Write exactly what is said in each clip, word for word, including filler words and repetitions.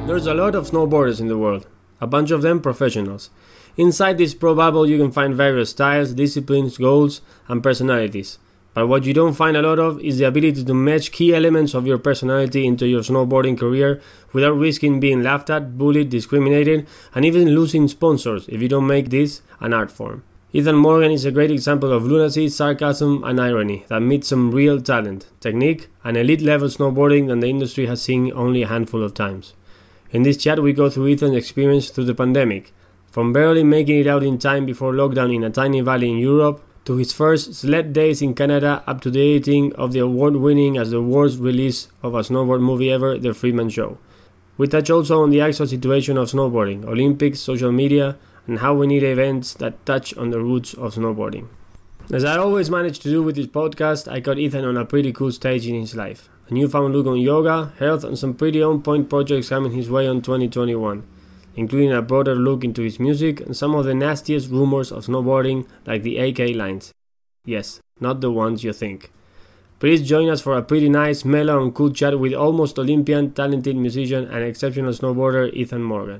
There's a lot of snowboarders in the world, a bunch of them professionals. Inside this pro bubble you can find various styles, disciplines, goals, and personalities. But what you don't find a lot of is the ability to match key elements of your personality into your snowboarding career without risking being laughed at, bullied, discriminated, and even losing sponsors if you don't make this an art form. Ethan Morgan is a great example of lunacy, sarcasm, and irony that meets some real talent, technique, and elite level snowboarding that the industry has seen only a handful of times. In this chat we go through Ethan's experience through the pandemic, from barely making it out in time before lockdown in a tiny valley in Europe, to his first sled days in Canada, up to the editing of the award-winning as the worst release of a snowboard movie ever, The Freeman Show. We touch also on the actual situation of snowboarding, Olympics, social media, and how we need events that touch on the roots of snowboarding. As I always manage to do with this podcast, I caught Ethan on a pretty cool stage in his life. A newfound look on yoga, health, and some pretty on-point projects coming his way on twenty twenty-one, including a broader look into his music and some of the nastiest rumors of snowboarding like the A K lines. Yes, not the ones you think. Please join us for a pretty nice, mellow and cool chat with almost Olympian, talented musician and exceptional snowboarder Ethan Morgan.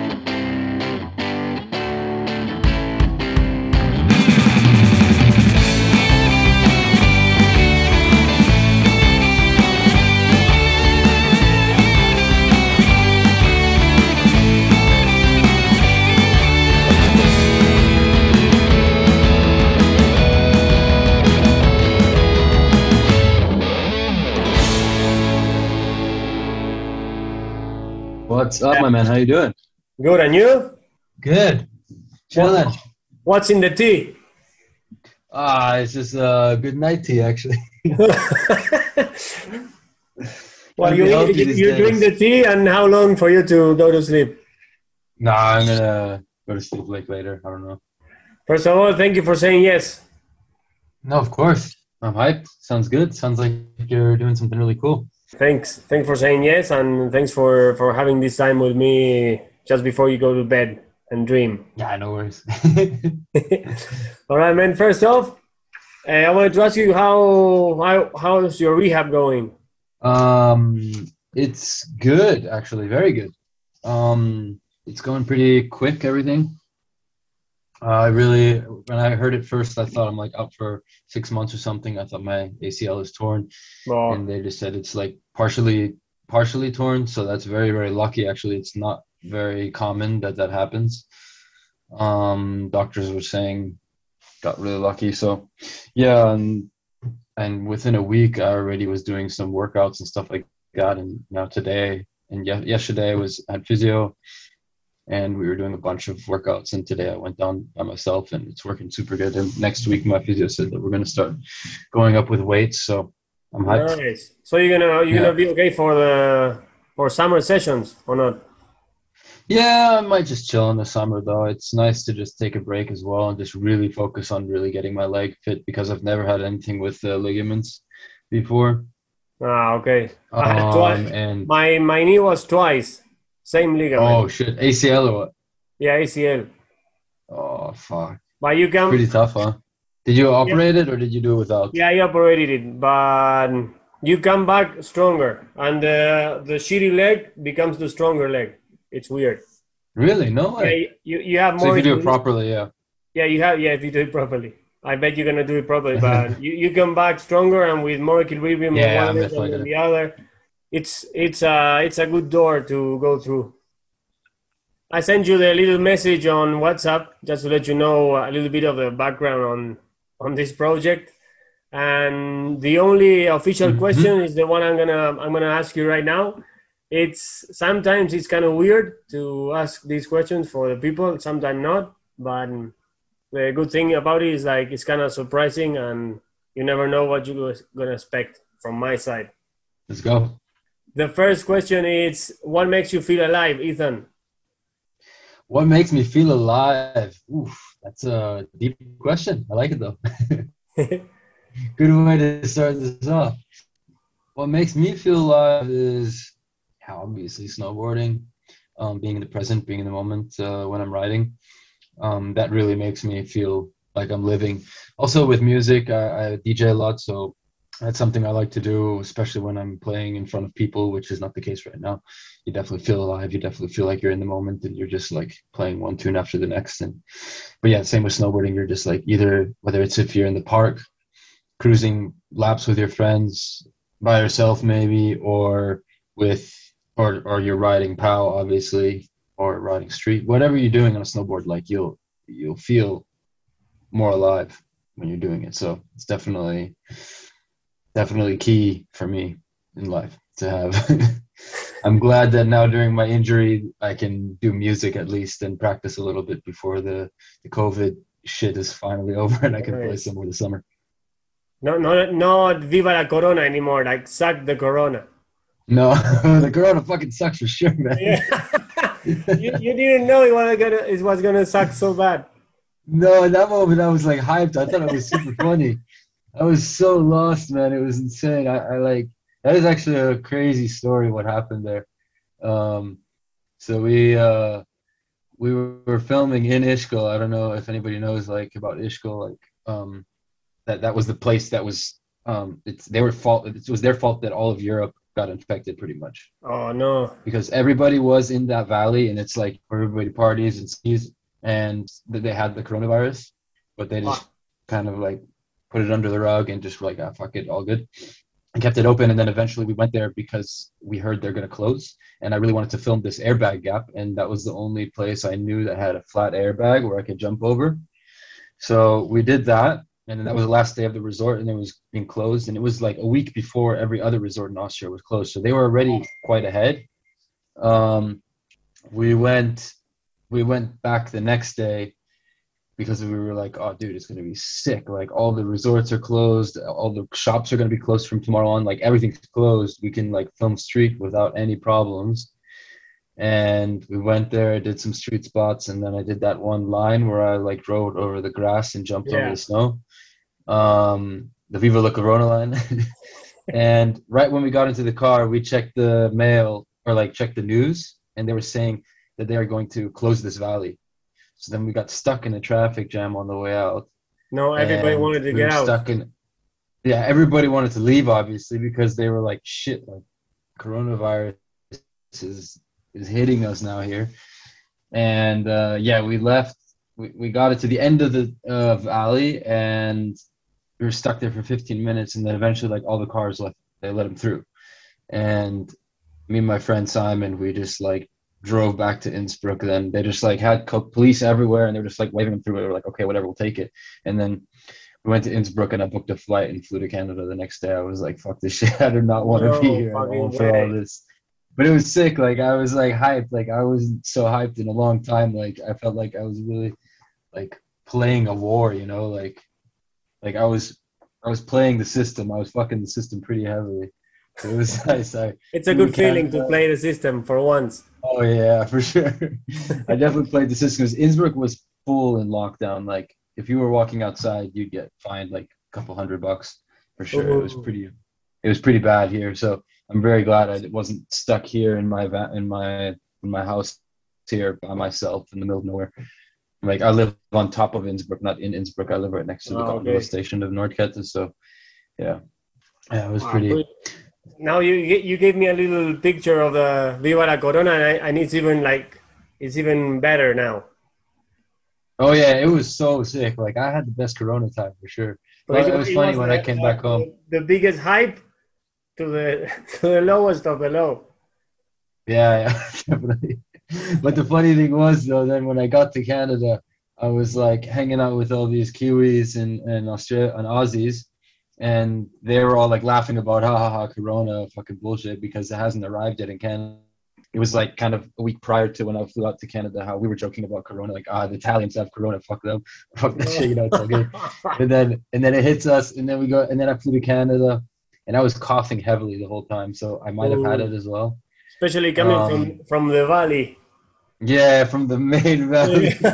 What's up, my man? How you doing? Good, and you? Good. Chilling. What's in the tea? Ah, it's just a good night tea, actually. Well, you, you, you drink the tea, and how long for you to go to sleep? Nah, I'm gonna go to sleep like later. I don't know. First of all, thank you for saying yes. No, of course. I'm hyped. Sounds good. Sounds like you're doing something really cool. Thanks. Thanks for saying yes, and thanks for, for having this time with me just before you go to bed and dream. Yeah, no worries. All right, man. First off, uh, I wanted to ask you how how how's your rehab going? Um, it's good, actually, very good. Um, it's going pretty quick. Everything. Uh, I really, when I heard it first, I thought I'm like out for six months or something. I thought my A C L is torn, oh. and they just said it's like partially, partially torn. So that's very, very lucky. Actually, it's not very common that that happens. Um, doctors were saying, got really lucky. So, yeah, and and within a week, I already was doing some workouts and stuff like that. And now today and ye- yesterday, I was at physio. And we were doing a bunch of workouts, and today I went down by myself, and it's working super good. And next week, my physio said that we're going to start going up with weights, so I'm hyped. Nice. So you're gonna you're yeah. gonna be okay for the for summer sessions or not? Yeah, I might just chill in the summer though. It's nice to just take a break as well and just really focus on really getting my leg fit because I've never had anything with the ligaments before. Ah, okay. Um, I had twice. And my my knee was twice. Same ligament. Oh shit, A C L or what? Yeah, A C L. Oh fuck. But you can. Pretty tough, huh? Did you operate yeah. it or did you do it without? Yeah, I operated it, but you come back stronger, and uh, the shitty leg becomes the stronger leg. It's weird. Really? No way. Yeah, you you have so more. So if you do it properly, yeah. Yeah, you have. Yeah, if you do it properly, I bet you're gonna do it properly. But you, you come back stronger and with more equilibrium yeah, on one leg than the other. It's it's a it's a good door to go through. I sent you the little message on WhatsApp just to let you know a little bit of the background on on this project. And the only official mm-hmm. question is the one I'm gonna I'm gonna ask you right now. It's sometimes it's kind of weird to ask these questions for the people, sometimes not. But the good thing about it is like it's kind of surprising, and you never know what you're gonna expect from my side. Let's go. The first question is, what makes you feel alive, Ethan? What makes me feel alive? Oof, that's a deep question. I like it though. Good way to start this off. What makes me feel alive is yeah, obviously snowboarding, um, being in the present, being in the moment uh, when I'm riding. Um, that really makes me feel like I'm living. Also with music, I, I D J a lot, so That's something I like to do, especially when I'm playing in front of people, which is not the case right now. You definitely feel alive. You definitely feel like you're in the moment and you're just like playing one tune after the next. And but yeah, same with snowboarding. You're just like either whether it's if you're in the park cruising laps with your friends, by yourself maybe, or with or or you're riding POW obviously, or riding street, whatever you're doing on a snowboard, like you'll you'll feel more alive when you're doing it. So it's definitely definitely key for me in life to have. I'm glad that now during my injury I can do music at least and practice a little bit before the the COVID shit is finally over and I can play Nice. some more this summer. No, no, not Viva la Corona anymore. Like suck the Corona. No, the Corona fucking sucks for sure, man. Yeah. you you didn't know it was gonna it was gonna suck so bad. No, in that moment I was like hyped. I thought it was super funny. I was so lost, man. It was insane. I, I like that is actually a crazy story what happened there. Um, so we uh we were filming in Ishkol. I don't know if anybody knows like about Ishkol, like um that that was the place that was um it's they were fault it was their fault that all of Europe got infected pretty much Oh no. because everybody was in that valley and it's like where everybody parties and skis and th- they had the coronavirus, but they Ah, just kind of like put it under the rug and just like, ah, fuck it, all good, and kept it open. And then eventually we went there because we heard they're going to close. And I really wanted to film this airbag gap. And that was the only place I knew that had a flat airbag where I could jump over. So we did that. And then that was the last day of the resort and it was being closed. And it was like a week before every other resort in Austria was closed. So they were already quite ahead. Um, we went we went back the next day because we were like, oh, dude, it's going to be sick. Like all the resorts are closed. All the shops are going to be closed from tomorrow on. Like everything's closed. We can like film street without any problems. And we went there, did some street spots. And then I did that one line where I like rode over the grass and jumped over yeah. the snow. Um, the Viva La Corona line. And right when we got into the car, we checked the mail or like checked the news. And they were saying that they are going to close this valley. So then we got stuck in a traffic jam on the way out, No, everybody and wanted to we get were out. stuck in. Yeah, everybody wanted to leave obviously because they were like, "Shit, like coronavirus is is hitting us now here." And uh, yeah, we left. We, we got it to the end of the uh, valley, and we were stuck there for fifteen minutes, and then eventually, like all the cars left, they let them through, and me and my friend Simon, we just like drove back to Innsbruck. Then they just like had co- police everywhere, and they were just like waving them through. We were like, okay, whatever, we'll take it. And then we went to Innsbruck, and I booked a flight and flew to Canada the next day. I was like, fuck this shit. I do not want to be No here at all fucking for all way. this. But it was sick. Like I was like hyped. Like I wasn't so hyped in a long time. Like I felt like I was really like playing a war. You know, like like I was I was playing the system. I was fucking the system pretty heavily. So it was nice. I It's a flew to good feeling to Canada. play the system for once. Oh yeah, for sure. I definitely played the system. 'Cause Innsbruck was full in lockdown. Like if you were walking outside, you'd get fined like a couple hundred bucks for sure. It was Ooh. pretty. It was pretty bad here. So I'm very glad I wasn't stuck here in my va- in my in my house here by myself in the middle of nowhere. Like I live on top of Innsbruck, not in Innsbruck. I live right next to the Ah, gondola okay. station of Nordkette. So yeah, yeah, it was Ah, pretty. good. Now you you gave me a little picture of the Viva la Corona, and, I, and it's even like it's even better now. Oh yeah, it was so sick. Like I had the best Corona time for sure. So it, Well, it was it funny was when I the, came the, back home. the, the biggest hype to the to the lowest of the low. Yeah, yeah, definitely. But the funny thing was though, then when I got to Canada, I was like hanging out with all these Kiwis and and Australia and Aussies, and they were all like laughing about ha ha ha Corona fucking bullshit because it hasn't arrived yet in Canada. It was like kind of a week prior to when I flew out to Canada, how we were joking about Corona, like ah the Italians have Corona, fuck them, fuck that shit, you know, it's all good. And then and then it hits us, and then we go, and then I flew to Canada, and I was coughing heavily the whole time, so I might have had Ooh. it as well. Especially coming Um, from from the valley. yeah, from the main valley.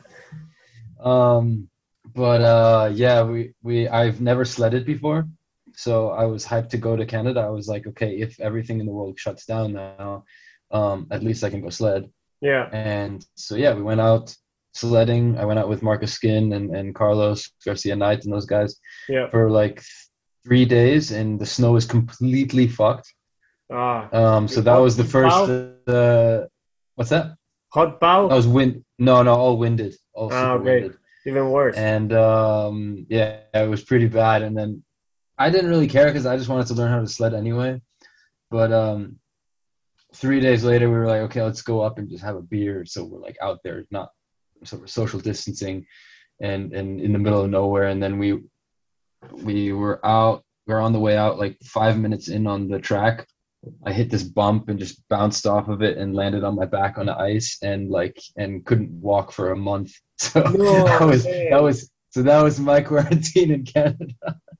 Um, but uh, yeah, we we I've never sledded before, so I was hyped to go to Canada. I was like, okay, if everything in the world shuts down now, um, at least I can go sled. Yeah, And so yeah, we went out sledding. I went out with Marcus Skin and, and Carlos Garcia Knight and those guys yeah. for like three days, and the snow is completely fucked. Ah, Um, so that hot was the first. pow, Uh, what's that? hot That pow. was wind. No, no, all winded, all Ah, super okay, winded, even worse. and um, yeah, it was pretty bad. And then I didn't really care because I just wanted to learn how to sled anyway. But um, three days later, we were like, okay, let's go up and just have a beer. So we're like out there, not so we're social distancing, and and in the middle of nowhere. And then we we were out. We are on the way out, like five minutes in on the track. I hit this bump and just bounced off of it and landed on my back on the ice and like and couldn't walk for a month. So that No, was that man. was so that was my quarantine in Canada.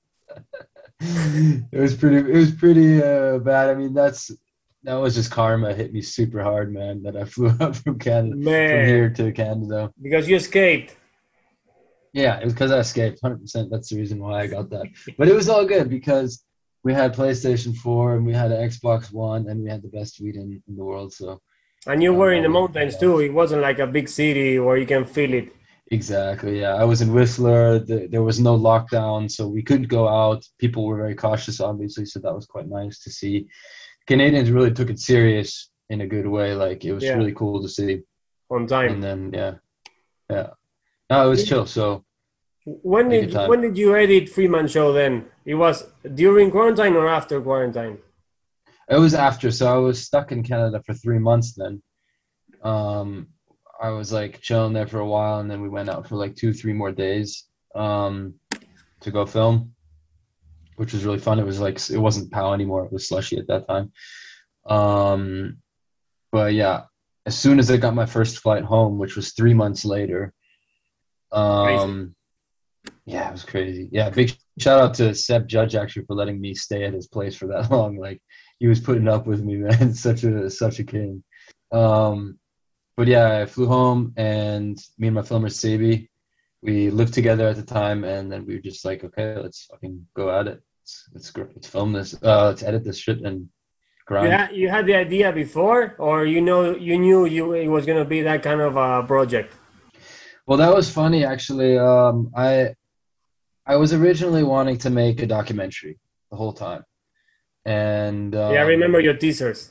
It was pretty it was pretty uh, bad. I mean, that's that was just karma. It hit me super hard, man, that I flew up from Canada from Man, here to Canada. because you escaped. Yeah, it was because I escaped. one hundred percent. That's the reason why I got that. But it was all good because we had PlayStation four and we had an Xbox One and we had the best weed in, in the world. So And you um, were in all the worked mountains out well. too. It wasn't like a big city where you can feel it. Exactly. Yeah, I was in Whistler. The, there was no lockdown, so we could go out. People were very cautious, obviously, so that was quite nice to see. Canadians really took it serious in a good way. Like it was Yeah, really cool to see. on time. And then yeah, yeah. No, it was chill. So When had a did good you, time. when did you edit Freeman Show then? It was during quarantine or after quarantine? It was after, so I was stuck in Canada for three months then. Um, I was like chilling there for a while, and then we went out for like two, three more days um, to go film, which was really fun. It was like it wasn't POW anymore; it was Slushy at that time. Um, but yeah, as soon as I got my first flight home, which was three months later, Crazy. um, yeah, it was crazy. Yeah, big shout out to Seb Judge actually for letting me stay at his place for that long. Like he was putting up with me, man. Such a such a king. Um, but yeah, I flew home and me and my filmer Sabi, we lived together at the time, and then we were just like, okay, let's fucking go at it. Let's let's, gr- let's film this. Uh, let's edit this shit and You grind. had you had the idea before, or you know you knew you it was gonna be that kind of a project. Well, that was funny actually. Um, I I was originally wanting to make a documentary the whole time, and Yeah, I remember um, your teasers.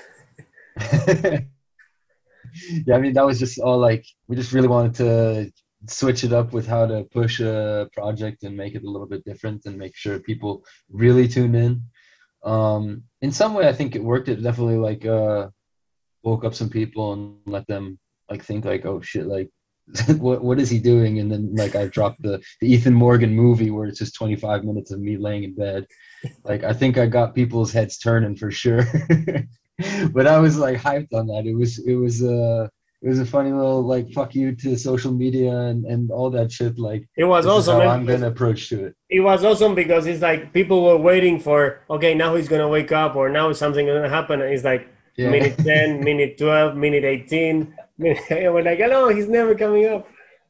yeah, I mean that was just all like we just really wanted to switch it up with how to push a project and make it a little bit different and make sure people really tuned in. Um, in some way, I think it worked. It definitely like uh, woke up some people and let them like think like, oh shit, like what what is he doing? And then like I dropped the the Ethan Morgan movie where it's just twenty-five minutes of me laying in bed. Like I think I got people's heads turning for sure. But I was like hyped on that. It was it was uh it was a funny little like fuck you to social media and and all that shit. Like It was this is awesome, how man, I'm because gonna approach to it. it was awesome because it's like people were waiting for okay, now he's gonna wake up or now something gonna happen. And it's like Yeah. minute ten, minute twelve, minute eighteen. Minute, we're like, oh no, he's never coming up.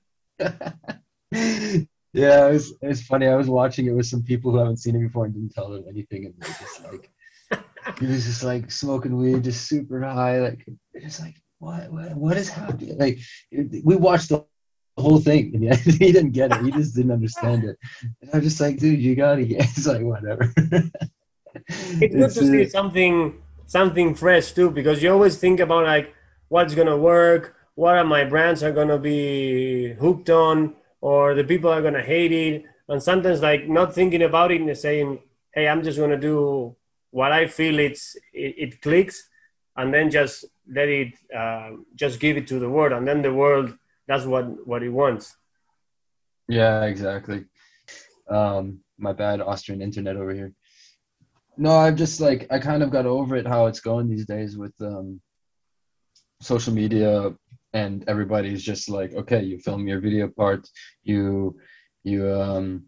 Yeah, it was it was funny. I was watching it with some people who haven't seen it before and didn't tell them anything, and they're just like he was just like smoking weed, just super high. Like it's like what what what is happening? Like we watched the whole thing, and yeah, he didn't get it. He just didn't understand it. And I'm just like, dude, you gotta get. It's like whatever. It's good It's to see uh, something something fresh too because you always think about like what's gonna work, what are my brands are gonna be hooked on, or the people are gonna hate it, and sometimes like not thinking about it and saying, hey, I'm just gonna do what I feel it's it, it clicks, and then just let it uh, just give it to the world, and then the world that's what what it wants. yeah, exactly. Um, my bad Austrian internet over here. No, I've just like I kind of got over it how it's going these days with um social media, and everybody's just like, okay, you film your video part, you you um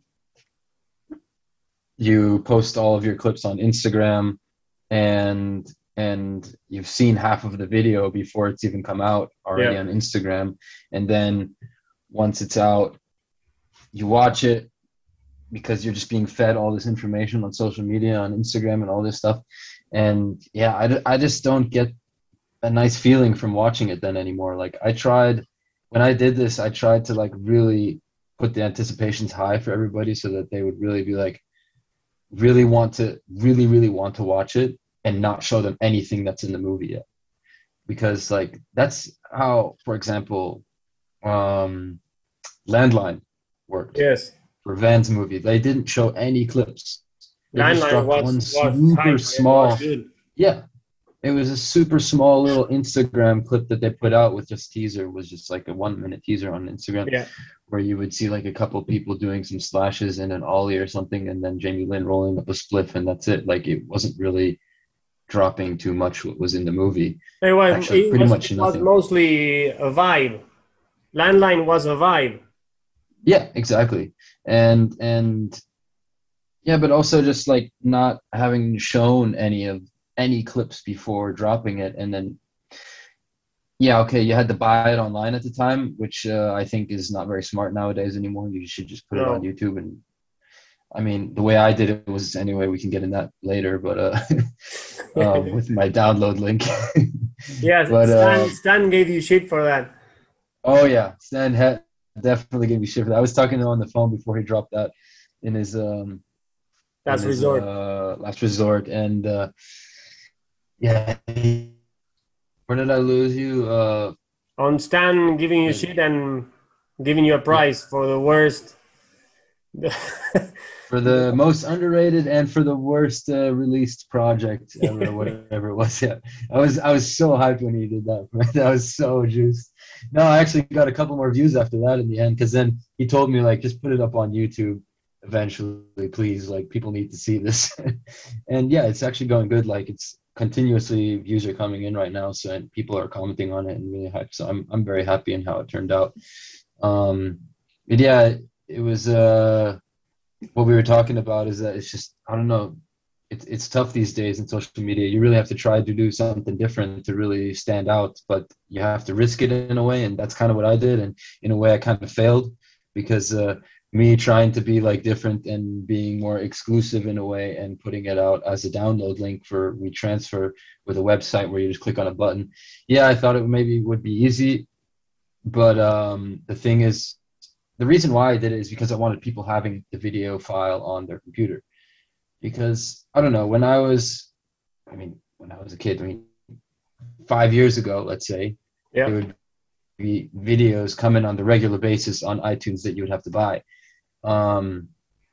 you post all of your clips on Instagram, and and you've seen half of the video before it's even come out already Yeah, on Instagram, and then once it's out, you watch it because you're just being fed all this information on social media, on Instagram, and all this stuff. And yeah, I, I just don't get a nice feeling from watching it then anymore. Like I tried when I did this, I tried to like really put the anticipations high for everybody so that they would really be like, really want to really really want to watch it and not show them anything that's in the movie yet, because like that's how, for example, um Landline worked Yes. for Van's movie. They didn't show any clips. They just Landline dropped one was was super hype. It was small, good. yeah, it was a super small little Instagram clip that they put out with just teaser. It was just like a one minute teaser on Instagram Yeah. where you would see like a couple people doing some slashes and an ollie or something, and then Jamie Lynn rolling up a spliff, and that's it. Like it wasn't really dropping too much what was in the movie. It was Actually, it pretty was much it was nothing. mostly a vibe. Landline was a vibe. Yeah, exactly. And and yeah, but also just like not having shown any of any clips before dropping it, and then yeah, okay, you had to buy it online at the time, which uh, I think is not very smart nowadays anymore. You should just put it on No. YouTube. And I mean, the way I did it was anyway. We can get in that later, but uh, um, with my download link. Yes, But Stan, um, Stan gave you shit for that. oh yeah, Stan had definitely gave me shit for that. I was talking to him on the phone before he dropped that in his um in That's his resort. uh last resort, and uh, yeah, he- where did I lose you? Uh, On Stan giving you yeah, shit and giving you a yeah, prize for the worst. for the most underrated and for the worst uh, released project ever, or whatever it was. Yeah, I was I was so hyped when he did that. That was so juiced. No, I actually got a couple more views after that in the end, because then he told me like just put it up on YouTube eventually, please. Like people need to see this. And yeah, it's actually going good. Like it's continuously views are coming in right now, so and people are commenting on it and really hyped. So I'm I'm very happy in how it turned out. Um, but yeah, it was. Uh, what we were talking about is that it's just I don't know, it's it's tough these days in social media. You really have to try to do something different to really stand out, but you have to risk it in a way, and that's kind of what I did. And in a way, I kind of failed because uh, me trying to be like different and being more exclusive in a way and putting it out as a download link for WeTransfer with a website where you just click on a button. Yeah, I thought it maybe would be easy, but um, the thing is, the reason why I did it is because I wanted people having the video file on their computer. Because I don't know, when I was, I mean, when I was a kid, I mean, five years ago, let's say, Yeah. there would be videos coming on the regular basis on iTunes that you would have to buy. Um,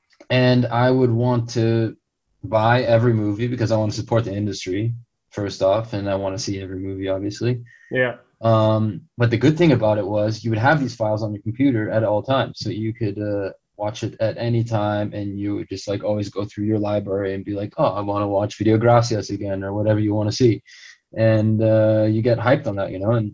and I would want to buy every movie because I want to support the industry, first off, and I want to see every movie, obviously. Yeah. Um, but the good thing about it was you would have these files on your computer at all times, so you could uh, watch it at any time, and you would just like always go through your library and be like, oh, I want to watch Video Gracias again or whatever you want to see, and uh, you get hyped on that, you know. And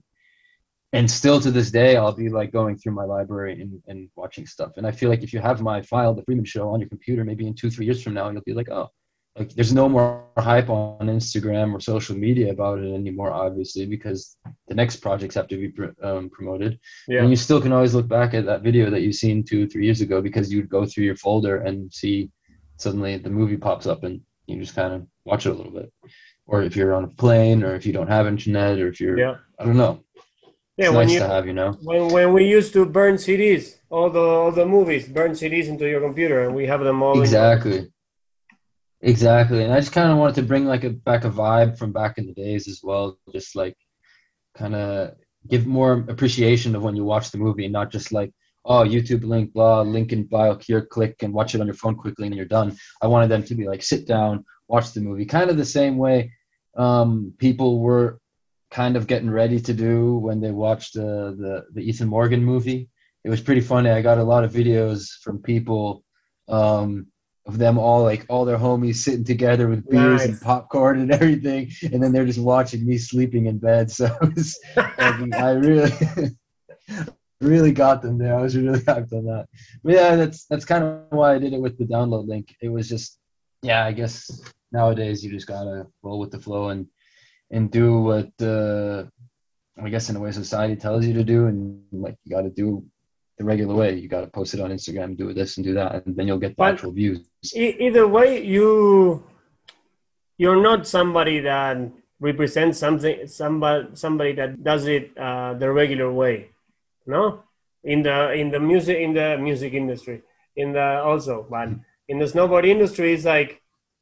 and still to this day, I'll be like going through my library and, and watching stuff. And I feel like if you have my file, The Freeman Show, on your computer, maybe in two, three years from now, you'll be like, oh, like there's no more hype on Instagram or social media about it anymore, obviously, because the next projects have to be pr- um, promoted. Yeah. And you still can always look back at that video that you've seen two, three years ago, because you'd go through your folder and see suddenly the movie pops up and you just kind of watch it a little bit. Or if you're on a plane, or if you don't have internet, or if you're, Yeah. I don't know. Yeah. It's When nice you to have, you know. when when we used to burn C Ds, all the all the movies, burn C Ds into your computer, and we have them all in your. Exactly. Exactly. And I just kind of wanted to bring like a back a vibe from back in the days as well. Just like kind of give more appreciation of when you watch the movie, and not just like, oh, YouTube link, blah, link in bio here, click and watch it on your phone quickly and you're done. I wanted them to be like, sit down, watch the movie, kind of the same way um, people were kind of getting ready to do when they watched uh, the the Ethan Morgan movie. It was pretty funny. I got a lot of videos from people um, of them all, like all their homies sitting together with beers and Nice. popcorn and everything, and then they're just watching me sleeping in bed. So it was, like, I really, really got them there. I was really hyped on that. But yeah, that's that's kind of why I did it with the download link. It was just, yeah, I guess nowadays you just gotta roll with the flow and and do what uh, I guess in a way society tells you to do, and like you got to do the regular way. You got to post it on Instagram, do this and do that, and then you'll get the But actual views. e- either way, you you're not somebody that represents something somebody somebody that does it uh, the regular way, no? In the in the music in the music industry, in the also, but in the snowboard industry, it's like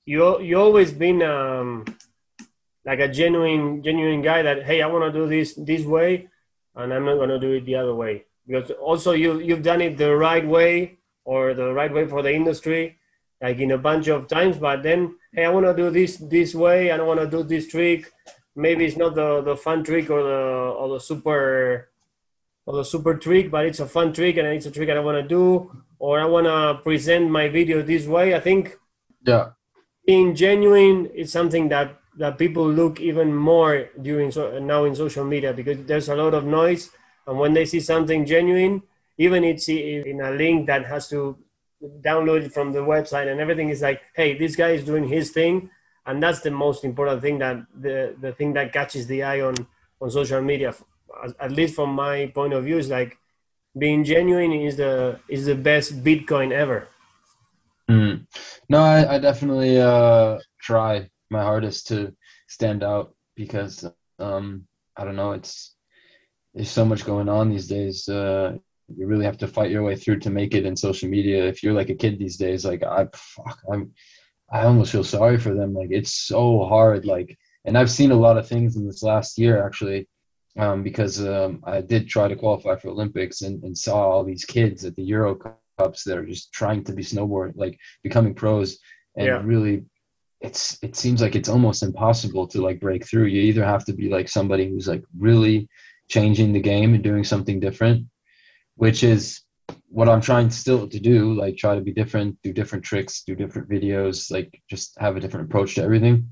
you you always been um, like a genuine genuine guy that, hey, I want to do this this way, and I'm not going to do it the other way, because also you you've done it the right way, or the right way for the industry, like in a bunch of times. But then, hey, I want to do this this way. I don't want to do this trick. Maybe it's not the the fun trick, or the or the super or the super trick, but it's a fun trick, and it's a trick I want to do, or I want to present my video this way. I think Yeah. being genuine is something that that people look even more during so, now in social media, because there's a lot of noise, and when they see something genuine, even it's in a link that has to download it from the website and everything, is like, hey, this guy is doing his thing, and that's the most important thing, that the the thing that catches the eye on on social media, at least from my point of view, is like being genuine is the is the best Bitcoin ever. Mm. No, I, I definitely uh, try my hardest to stand out because um, I don't know, it's there's so much going on these days. Uh, you really have to fight your way through to make it in social media. If you're like a kid these days, like I, fuck, I'm, I almost feel sorry for them. Like it's so hard. Like, and I've seen a lot of things in this last year actually, um, because um, I did try to qualify for Olympics and, and saw all these kids at the Euro Cups that are just trying to be snowboard, like becoming pros, Yeah, and really it's it seems like it's almost impossible to like break through. You either have to be like somebody who's like really changing the game and doing something different, which is what I'm trying still to do, like try to be different, do different tricks, do different videos, like just have a different approach to everything.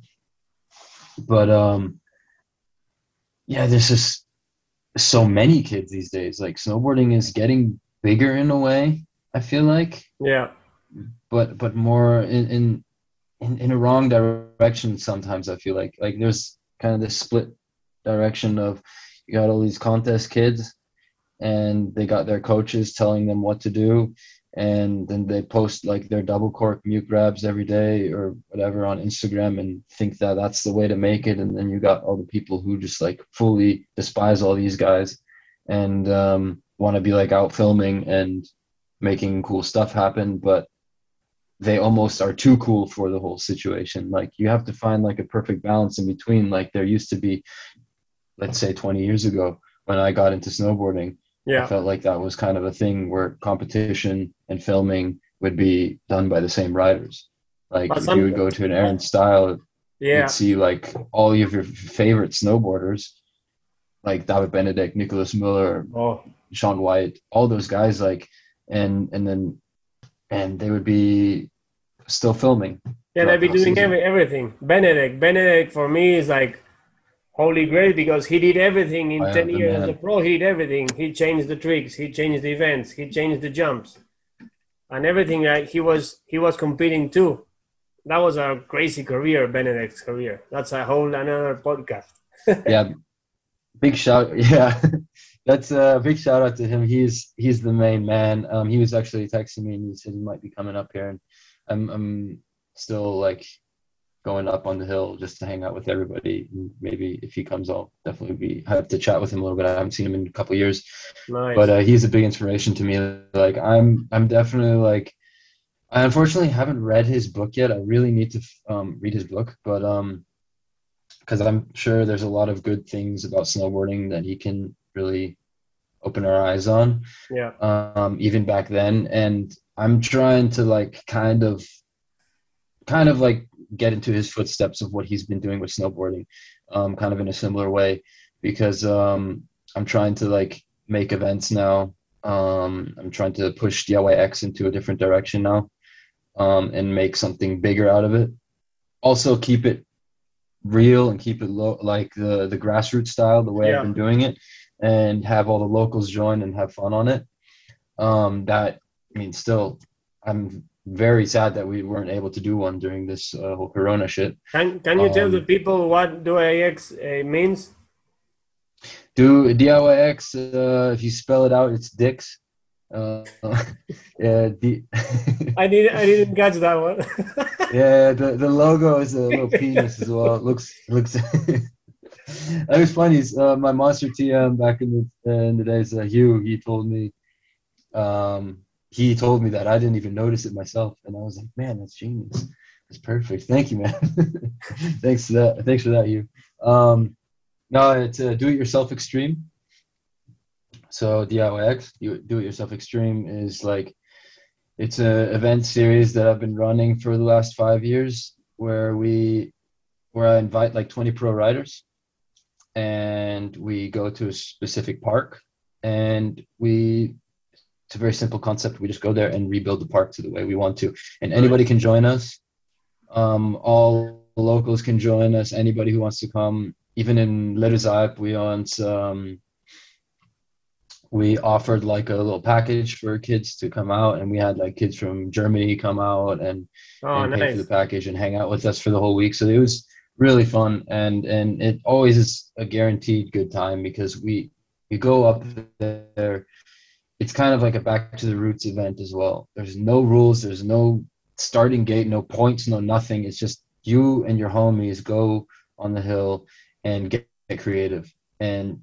But um yeah, there's just so many kids these days. Like snowboarding is getting bigger in a way, I feel like, yeah. but but more in in in, in a wrong direction sometimes. I feel like like there's kind of this split direction of you got all these contest kids and they got their coaches telling them what to do, and then they post like their double cork mute grabs every day or whatever on Instagram and think that that's the way to make it. And then you got all the people who just like fully despise all these guys and um, want to be like out filming and making cool stuff happen, but they almost are too cool for the whole situation. Like you have to find like a perfect balance in between. Like there used to be, let's say twenty years ago when I got into snowboarding, I Yeah, felt like that was kind of a thing where competition and filming would be done by the same riders. Like but if you some, would go to an Aaron style, you'd yeah, see like all of your favorite snowboarders, like David Benedict, Nicholas Miller, oh, Sean White, all those guys, like, and and then and they would be still filming yeah, they've throughout the been whole doing season. every everything. Benedict, Benedict for me is like holy grail, because he did everything in I ten am the years as a man. pro. He did everything. He changed the tricks. He changed the events. He changed the jumps and everything. Right, he was he was competing too. That was a crazy career, Benedict's career. That's a whole another podcast. Yeah, big shout. Yeah, that's a big shout out to him. He's he's the main man. Um, he was actually texting me and he said he might be coming up here, and I'm I'm still like going up on the hill just to hang out with everybody. And maybe if he comes, I'll definitely be have to chat with him a little bit. I haven't seen him in a couple of years, but Nice. uh, he's a big inspiration to me. Like I'm I'm definitely like I unfortunately haven't read his book yet. I really need to um, read his book, but um, because I'm sure there's a lot of good things about snowboarding that he can really open our eyes on, Yeah. um, even back then. And I'm trying to like kind of, kind of like get into his footsteps of what he's been doing with snowboarding, um, kind of in a similar way, because um, I'm trying to like make events now. Um, I'm trying to push D I Y X into a different direction now, um, and make something bigger out of it. Also, keep it real and keep it low, like the the grassroots style, the way I've Yeah. been doing it, and have all the locals join and have fun on it. Um, that I mean, still, I'm very sad that we weren't able to do one during this uh, whole Corona shit. Can Can you tell the Um, people what D I X uh, means? do D I Y X. Uh, if you spell it out, it's dicks. Uh, yeah, D- I did I didn't catch that one. yeah. The, the logo is a little penis as well. It looks looks. That was funny. Uh, my monster T M back in the in the days, uh, Hugh, he told me, um, he told me that I didn't even notice it myself, and I was like, man, that's genius. That's perfect. Thank you, man. Thanks for that. Thanks for that, you. Um, no, it's a do-it-yourself extreme. So D I Y X, you do-it-yourself extreme is like it's a event series that I've been running for the last five years, where we where I invite like twenty pro riders, and we go to a specific park, and we it's a very simple concept. We just go there and rebuild the park to the way we want to, and anybody can join us. Um, all locals can join us. Anybody who wants to come, even in Leruzaip, we once um, we offered like a little package for kids to come out, and we had like kids from Germany come out and Oh, and pay for the nice. package and hang out with us for the whole week. So it was really fun, and and it always is a guaranteed good time because we we go up there. It's kind of like a back to the roots event as well. There's no rules, there's no starting gate, no points, no nothing. It's just you and your homies go on the hill and get, get creative. And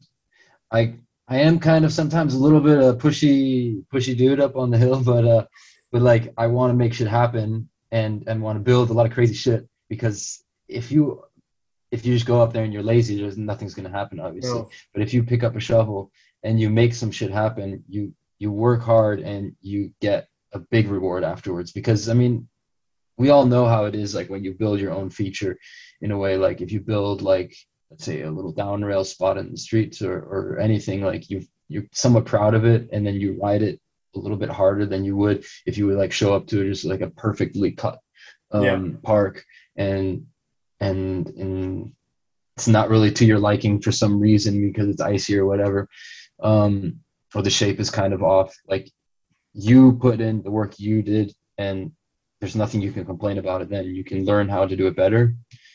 I I am kind of sometimes a little bit of pushy pushy dude up on the hill, but uh but like I want to make shit happen and and want to build a lot of crazy shit, because if you if you just go up there and you're lazy, there's nothing's gonna happen, obviously. No. But if you pick up a shovel and you make some shit happen, you you work hard and you get a big reward afterwards. Because I mean, we all know how it is, like when you build your own feature in a way, like if you build like, let's say, a little down rail spot in the streets, or, or anything, like you you're somewhat proud of it, and then you ride it a little bit harder than you would if you would like show up to just like a perfectly cut Yeah. um park, and and and it's not really to your liking for some reason because it's icy or whatever, um or the shape is kind of off. Like, you put in the work you did, and there's nothing you can complain about it. Then you can learn how to do it better,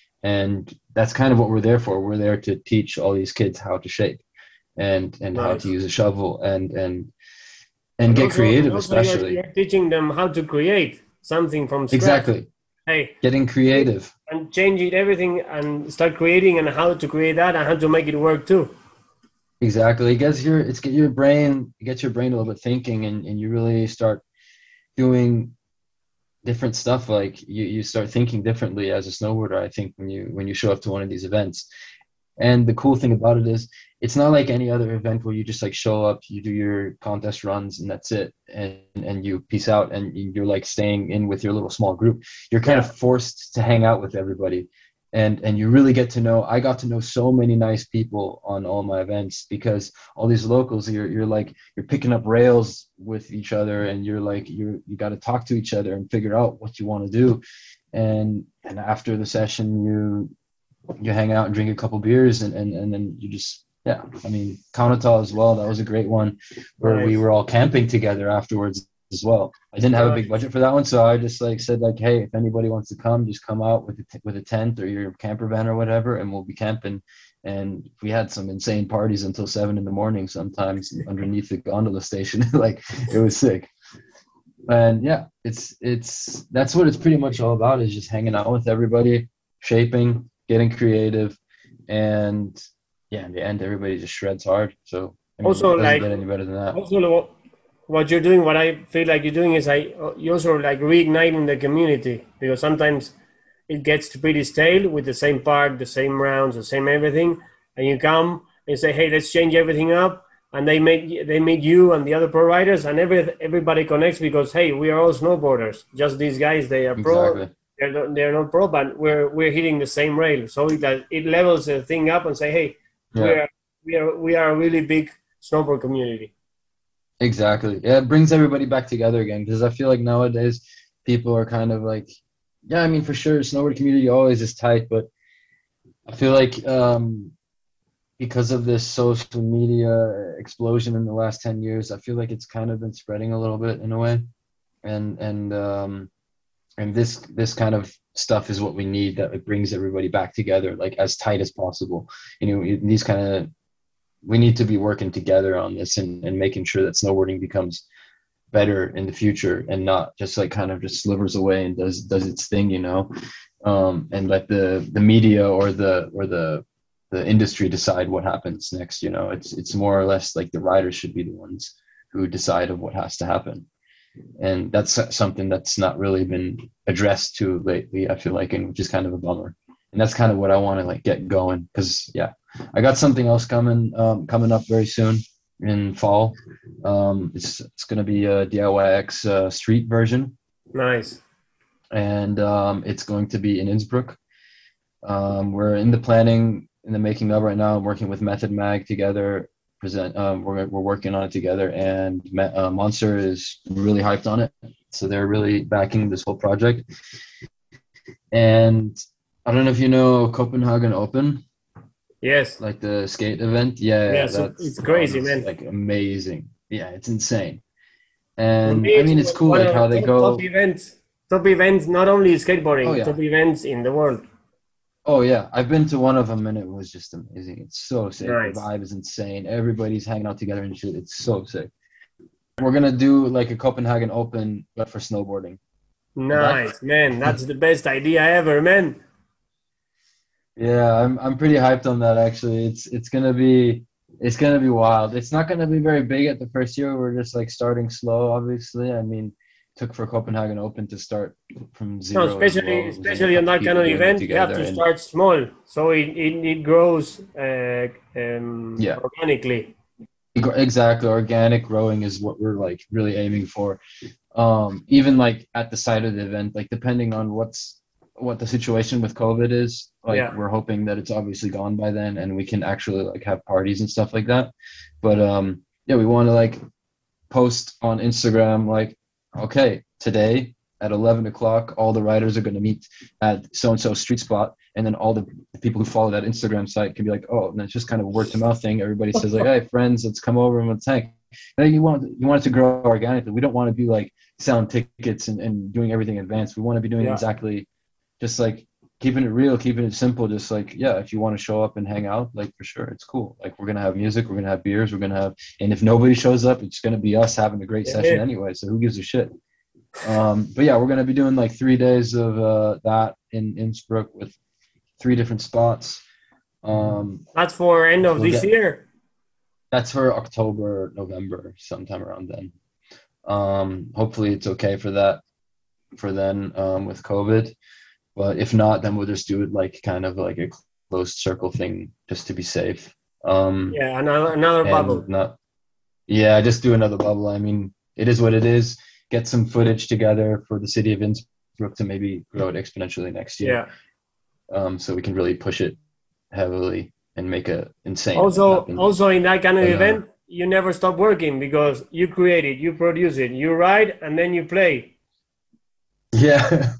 and that's kind of what we're there for. We're there to teach all these kids how to shape, and and how to Nice. use a shovel, and and and And get also, and creative, also you're, especially. you're teaching them how to create something from scratch. Exactly, Hey, getting creative. and change it everything and start creating, and how to create that and how to make it work too. Exactly, it gets your it's get your brain it gets your brain a little bit thinking, and, and you really start doing different stuff. Like you, you start thinking differently as a snowboarder, I think, when you when you show up to one of these events. And the cool thing about it is it's not like any other event where you just like show up, you do your contest runs, and that's it, and and you peace out, and you're like staying in with your little small group. You're kind Yeah. of forced to hang out with everybody, and and you really get to know. I got to know so many nice people on all my events, because all these locals, you're you're like you're picking up rails with each other, and you're like you you got to talk to each other and figure out what you want to do. and and after the session, you you hang out and drink a couple beers, and and, and then you just, yeah, I mean, Countertall as well, that was a great one, where we Nice. were all camping together afterwards as well. I didn't have a big Nice. budget for that one, so I just like said like, hey, if anybody wants to come, just come out with a t- with a tent or your camper van or whatever, and we'll be camping. And we had some insane parties until seven in the morning sometimes underneath the gondola station. Like, it was sick. And yeah, it's it's that's what it's pretty much all about, is just hanging out with everybody, shaping, getting creative, and yeah, in the end, everybody just shreds hard. So I mean, Also, it doesn't like, get any better than that. also what what you're doing, what I feel like you're doing is like you're also like reigniting the community, because sometimes it gets pretty stale with the same park, the same rounds, the same everything, and you come and say, hey, let's change everything up, and they make they meet you and the other pro riders, and every everybody connects because, hey, we are all snowboarders. Just these guys, they are pro. Exactly. They're not, they're not pro, but we're we're hitting the same rail, so that it levels the thing up and say, hey, we Yeah, are we are we are a really big snowboard community. exactly. Yeah, it brings everybody back together again, because I feel like nowadays people are kind of like, yeah, I mean, for sure, snowboard community always is tight, but I feel like um, because of this social media explosion in the last ten years, I feel like it's kind of been spreading a little bit in a way. And and um, and this this kind of stuff is what we need, that it brings everybody back together, like as tight as possible. You know, these kind of we need to be working together on this, and, and making sure that snowboarding becomes better in the future, and not just like kind of just slivers away and does does its thing, you know, um, and let the the media or the or the the industry decide what happens next. You know, it's it's more or less like the riders should be the ones who decide of what has to happen. and that's something that's not really been addressed to lately, I feel like, and which is kind of a bummer. And that's kind of what I want to like get going, because yeah, I got something else coming um, coming up very soon in fall. Um, it's it's going to be a D I Y X uh, street version, Nice. and um, it's going to be in Innsbruck. Um, we're in the planning, in the making of right now. I'm working with Method Mag together. Present. Um, we're we're working on it together, and uh, Monster is really hyped on it. So they're really backing this whole project. And I don't know if you know Copenhagen Open, Yes. like the skate event. Yeah, Yeah. yeah, So that's it's crazy, um, it's man. like amazing. Yeah, it's insane. For me, And I it's mean, it's cool one like of how the they top, top go. events. Top events, not only Oh skateboarding, top yeah. events in the world. Oh yeah, I've been to one of them and it was just amazing. It's so sick. The Nice. vibe is insane. Everybody's hanging out together and shit. It's so sick. We're gonna do like a Copenhagen Open, but for snowboarding. That, Nice, man. That's the best idea ever, man. yeah, I'm I'm pretty hyped on that actually. It's it's gonna be it's gonna be wild. It's not gonna be very big at the first year. We're just like starting slow, obviously. I mean, took for Copenhagen Open to start from No, zero as especially well. It was only a especially on couple that kind people of doing it event, you have together, to and start small, so it it, it grows uh, um, yeah, organically. exactly. Organic growing is what we're like really aiming for. Um, even like at the side of the event, like depending on what's what the situation with COVID is, like Yeah, we're hoping that it's obviously gone by then and we can actually like have parties and stuff like that. But um, yeah, we want to like post on Instagram like, okay, today at eleven o'clock, all the riders are going to meet at so and so street spot, and then all the people who follow that Instagram site can be like, oh, and it's just kind of a word to mouth thing. Everybody says like, hey, friends, let's come over and let's hang. And you want you want it to grow organically. We don't want to be like selling tickets and, and doing everything in advance. We want to be doing yeah, exactly just like keeping it real, keeping it simple. Just like, yeah, if you want to show up and hang out, like for sure, it's cool. Like we're gonna have music, we're gonna have beers, we're gonna have, and if nobody shows up, it's gonna be us having a great session yeah. anyway. So who gives a shit? Um, but yeah, we're gonna be doing like three days of uh, that in Innsbruck with three different spots. Um, That's for end of we'll this get year. that's for October, November, sometime around then. Um, hopefully it's okay for that for then um, with COVID. But if not, then we'll just do it like kind of like a closed circle thing just to be safe. Um, Yeah, another another and bubble. not, yeah, just do another bubble. I mean, it is what it is. Get some footage together for the city of Innsbruck to maybe grow it exponentially next year. Yeah. Um, so we can really push it heavily and make a insane event Also, happen. also in that kind of But, uh, event, you never stop working because you create it, you produce it, you write, and then you play. yeah.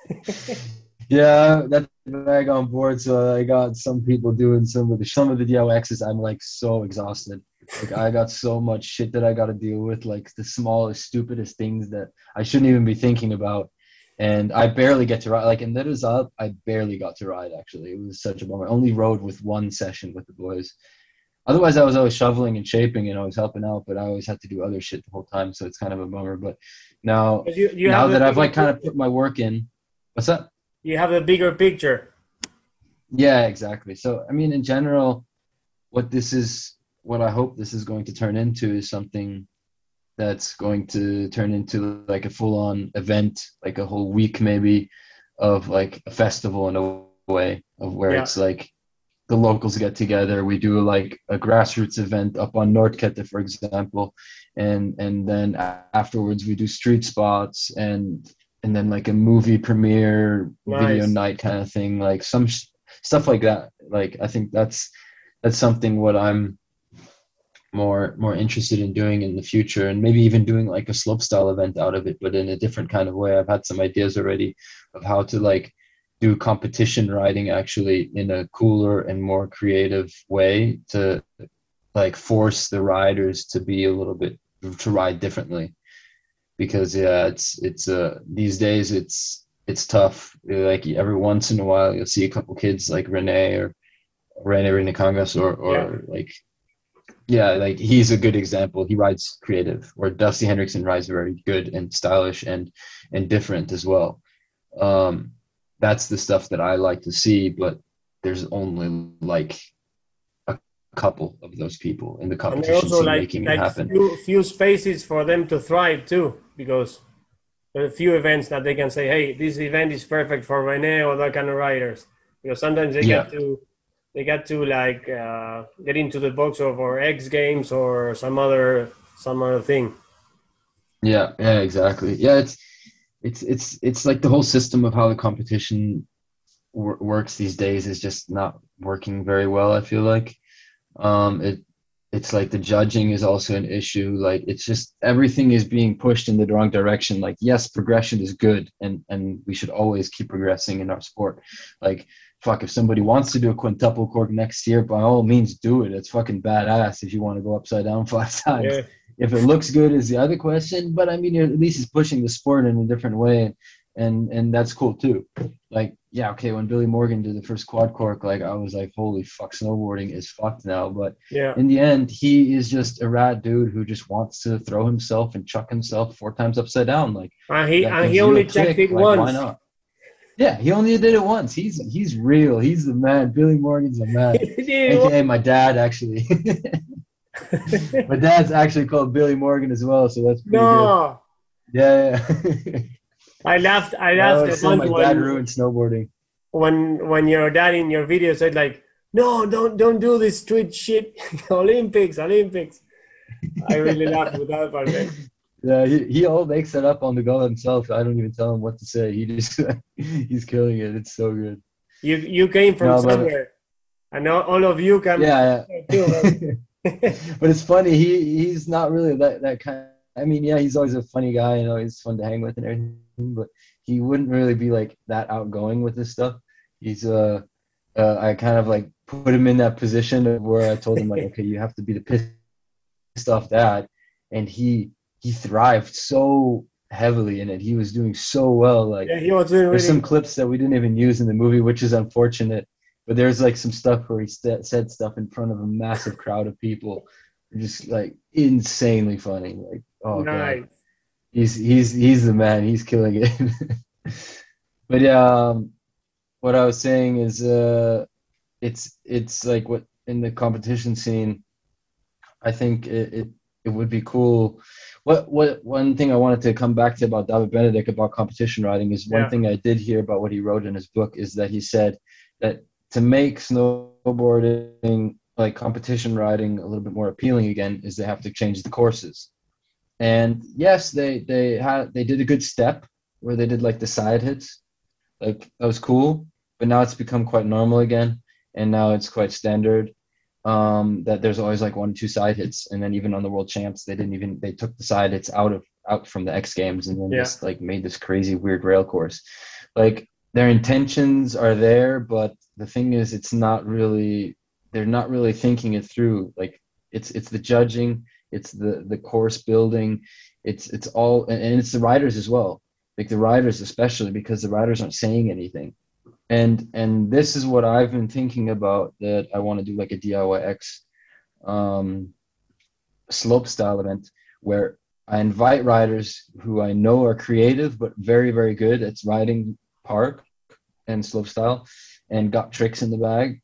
Yeah, that's bag on board. So I got some people doing some of the some of the D I Y X's. I'm like so exhausted. Like I got so much shit that I got to deal with, like the smallest, stupidest things that I shouldn't even be thinking about. And I barely get to ride. Like in Letters Up, I barely got to ride. Actually, it was such a bummer. I only rode with one session with the boys. Otherwise, I was always shoveling and shaping and I was helping out, but I always had to do other shit the whole time. So it's kind of a bummer. But now, Because you, you now have a that I've bigger, like kind of put my work in, what's that? you have a bigger picture. Yeah, exactly. So, I mean, in general, what this is, what I hope this is going to turn into is something that's going to turn into like a full-on event, like a whole week maybe of like a festival in a way of where Yeah. it's like the locals get together. We do like a grassroots event up on Nordkette, for example, and and then afterwards we do street spots and and then like a movie premiere, video Nice. night kind of thing, like some sh- stuff like that. Like I think that's that's something what I'm more more interested in doing in the future, and maybe even doing like a slopestyle event out of it, but in a different kind of way. I've had some ideas already of how to like do competition riding actually in a cooler and more creative way to like force the riders to be a little bit to ride differently, because yeah, it's it's uh these days it's it's tough. Like every once in a while you'll see a couple kids like Rene or Rene Rene Kangas or Yeah. or like yeah, like he's a good example. He rides creative, or Dusty Hendrickson rides very good and stylish and and different as well. Um, that's the stuff that I like to see, but there's only like a couple of those people in the And there competition also scene like making it like happen. few few spaces for them to thrive too, because there are a few events that they can say, hey, this event is perfect for Rene or that kind of riders. Because sometimes they Yeah, get to they get to like uh, get into the box of or X Games or some other some other thing. yeah, yeah, exactly. Yeah, it's it's it's it's like the whole system of how the competition wor- works these days is just not working very well, I feel like. Um, it it's like the judging is also an issue. Like it's just everything is being pushed in the wrong direction. Like yes, progression is good, and and we should always keep progressing in our sport. Like fuck, if somebody wants to do a quintuple cork next year, by all means do it. It's fucking badass if you want to go upside down five times. Yeah, If it looks good is the other question, but I mean at least it's pushing the sport in a different way, and and that's cool too. Like yeah, okay, when Billy Morgan did the first quad cork, like I was like, holy fuck, snowboarding is fucked now. But yeah. in the end, he is just a rad dude who just wants to throw himself and chuck himself four times upside down. Like And he that and he gives you a only checked kick. it Like why once. not? Yeah, he only did it once. He's he's real. He's the man. Billy Morgan's the He man. did it A K A my dad actually. My once. dad's actually called Billy Morgan as well, so that's pretty good. No, Yeah, yeah. I laughed. I I laughed a always say bunch my dad when ruined snowboarding. when when your dad in your video said like, no, don't don't do this street shit. Olympics, Olympics. I really laughed with that part, man. Yeah, he, he all makes it up on the go himself. I don't even tell him what to say. He just he's killing it. It's so good. You you came from No, but somewhere, and all, all of you come from yeah, somewhere too, yeah. man. But it's funny. He he's not really that that kind. I mean, yeah, he's always a funny guy. You know, he's fun to hang with and everything. But he wouldn't really be like that outgoing with this stuff. He's uh, uh I kind of like put him in that position of where I told him like, okay, you have to be the pissed off dad, and he he thrived so heavily in it. He was doing so well. Like Yeah, he was doing there's really some well. clips that we didn't even use in the movie, which is unfortunate. But there's like some stuff where he st- said stuff in front of a massive crowd of people, just like insanely funny. Like, oh god, Nice. he's he's he's the man. He's killing it. But yeah, um, what I was saying is, uh, it's it's like what in the competition scene. I think it, it it would be cool. What what one thing I wanted to come back to about David Benedict about competition riding is one Yeah, thing I did hear about what he wrote in his book is that he said that to make snowboarding like competition riding a little bit more appealing again is they have to change the courses. And yes, they they had they did a good step where they did like the side hits, like that was cool. But now it's become quite normal again, and now it's quite standard um, that there's always like one or two side hits, and then even on the world champs, they didn't even they took the side hits out of out from the X Games, and then yeah. just like made this crazy weird rail course. Like their intentions are there, but the thing is, it's not really they're not really thinking it through. Like it's it's the judging, it's the the course building, it's it's all, and it's the riders as well. Like the riders especially because the riders aren't saying anything and and this is what I've been thinking about that I want to do like a D I Y X um, slope style event where I invite riders who I know are creative but very very good at riding park and slope style and got tricks in the bag,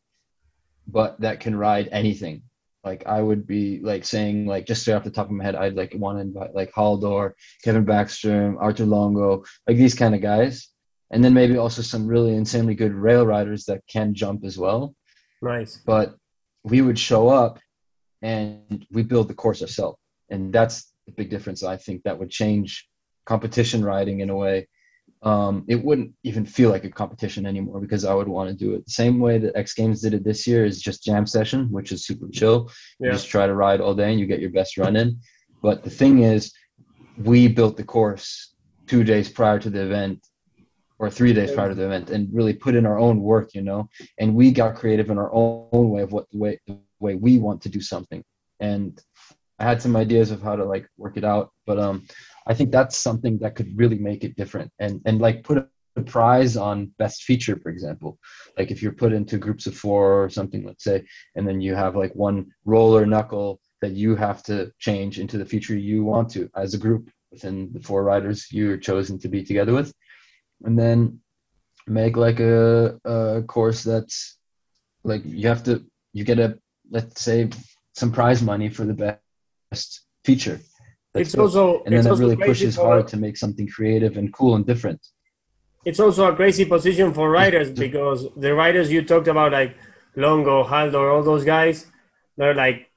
but that can ride anything. Like I would be like saying like just straight off the top of my head, I'd like want to invite like Haldor, Kevin Backstrom, Arthur Longo, like these kind of guys, and then maybe also some really insanely good rail riders that can jump as well. Nice. But we would show up and we build the course ourselves, and that's the big difference. I think that would change competition riding in a way. Um, it wouldn't even feel like a competition anymore because I would want to do it the same way that X Games did it this year is just jam session, which is super chill. You Yeah. just try to ride all day and you get your best run in. But the thing is, we built the course two days prior to the event or three days prior to the event and really put in our own work, you know, and we got creative in our own way of what the way, the way we want to do something. And I had some ideas of how to like work it out, but um, I think that's something that could really make it different and and like put a, a prize on best feature, for example. Like if you're put into groups of four or something, let's say, and then you have like one roller knuckle that you have to change into the feature you want to as a group within the four riders you're chosen to be together with, and then make like a, a course that's like you have to you get a let's say, some prize money for the best feature that's It's built. also And then it's that also really crazy pushes for hard to make something creative and cool and different. it's also a crazy position for writers because the writers you talked about, like Longo, Haldor, all those guys, they're like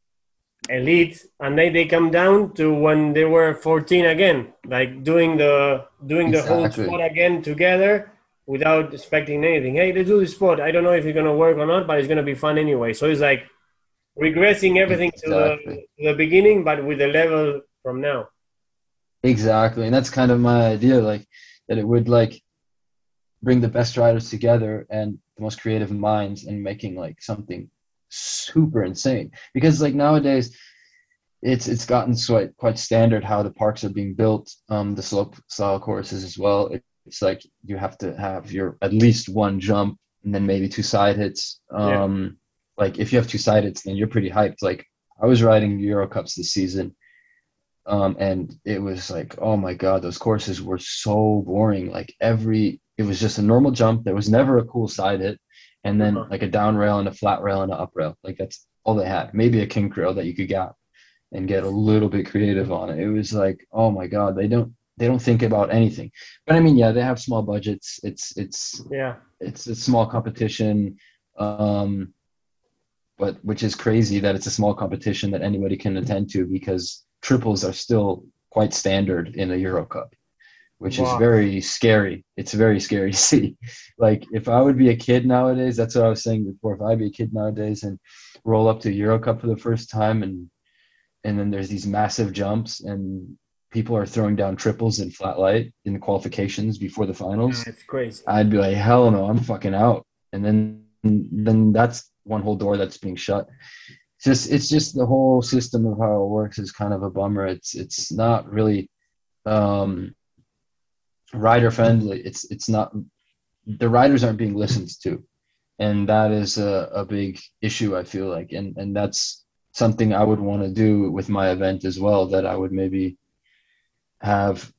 elite, and then they come down to when they were fourteen again, like doing the doing the whole spot Exactly. again together without expecting anything. Hey, let's do this spot. I don't know if it's gonna work or not, but it's gonna be fun anyway. So it's like regressing everything to the Exactly. to the beginning, but with the level from now. Exactly. And that's kind of my idea, like that it would like bring the best writers together and the most creative minds and making like something super insane. Because like nowadays it's it's gotten quite quite standard how the parks are being built, um, the slope style courses as well. It, it's like you have to have your at least one jump and then maybe two side hits. Yeah. Um, like if you have two side hits, then you're pretty hyped. Like I was riding Euro Cups this season, um, and it was like, oh my God, those courses were so boring. Like every, it was just a normal jump. There was never a cool side hit, and then Uh-huh. like a down rail and a flat rail and an up rail. Like that's all they had. Maybe a kink rail that you could gap and get a little bit creative on it. It was like, oh my God, they don't they don't think about anything. But I mean, yeah, they have small budgets. It's it's Yeah. it's a small competition. Um, but which is crazy that it's a small competition that anybody can attend to because triples are still quite standard in a Euro Cup, which is Wow. very scary. It's very scary to see. Like if I would be a kid nowadays, that's what I was saying before. If I'd be a kid nowadays and roll up to Euro Cup for the first time and and then there's these massive jumps and people are throwing down triples in flat light in the qualifications before the Yeah, finals, it's crazy. I'd be like, hell no, I'm fucking out. And then then that's one whole door that's being shut. It's just it's just the whole system of how it works is kind of a bummer. It's it's not really um, rider friendly. It's it's not the riders aren't being listened to, and that is a, a big issue. I feel like, and and that's something I would want to do with my event as well. That I would maybe have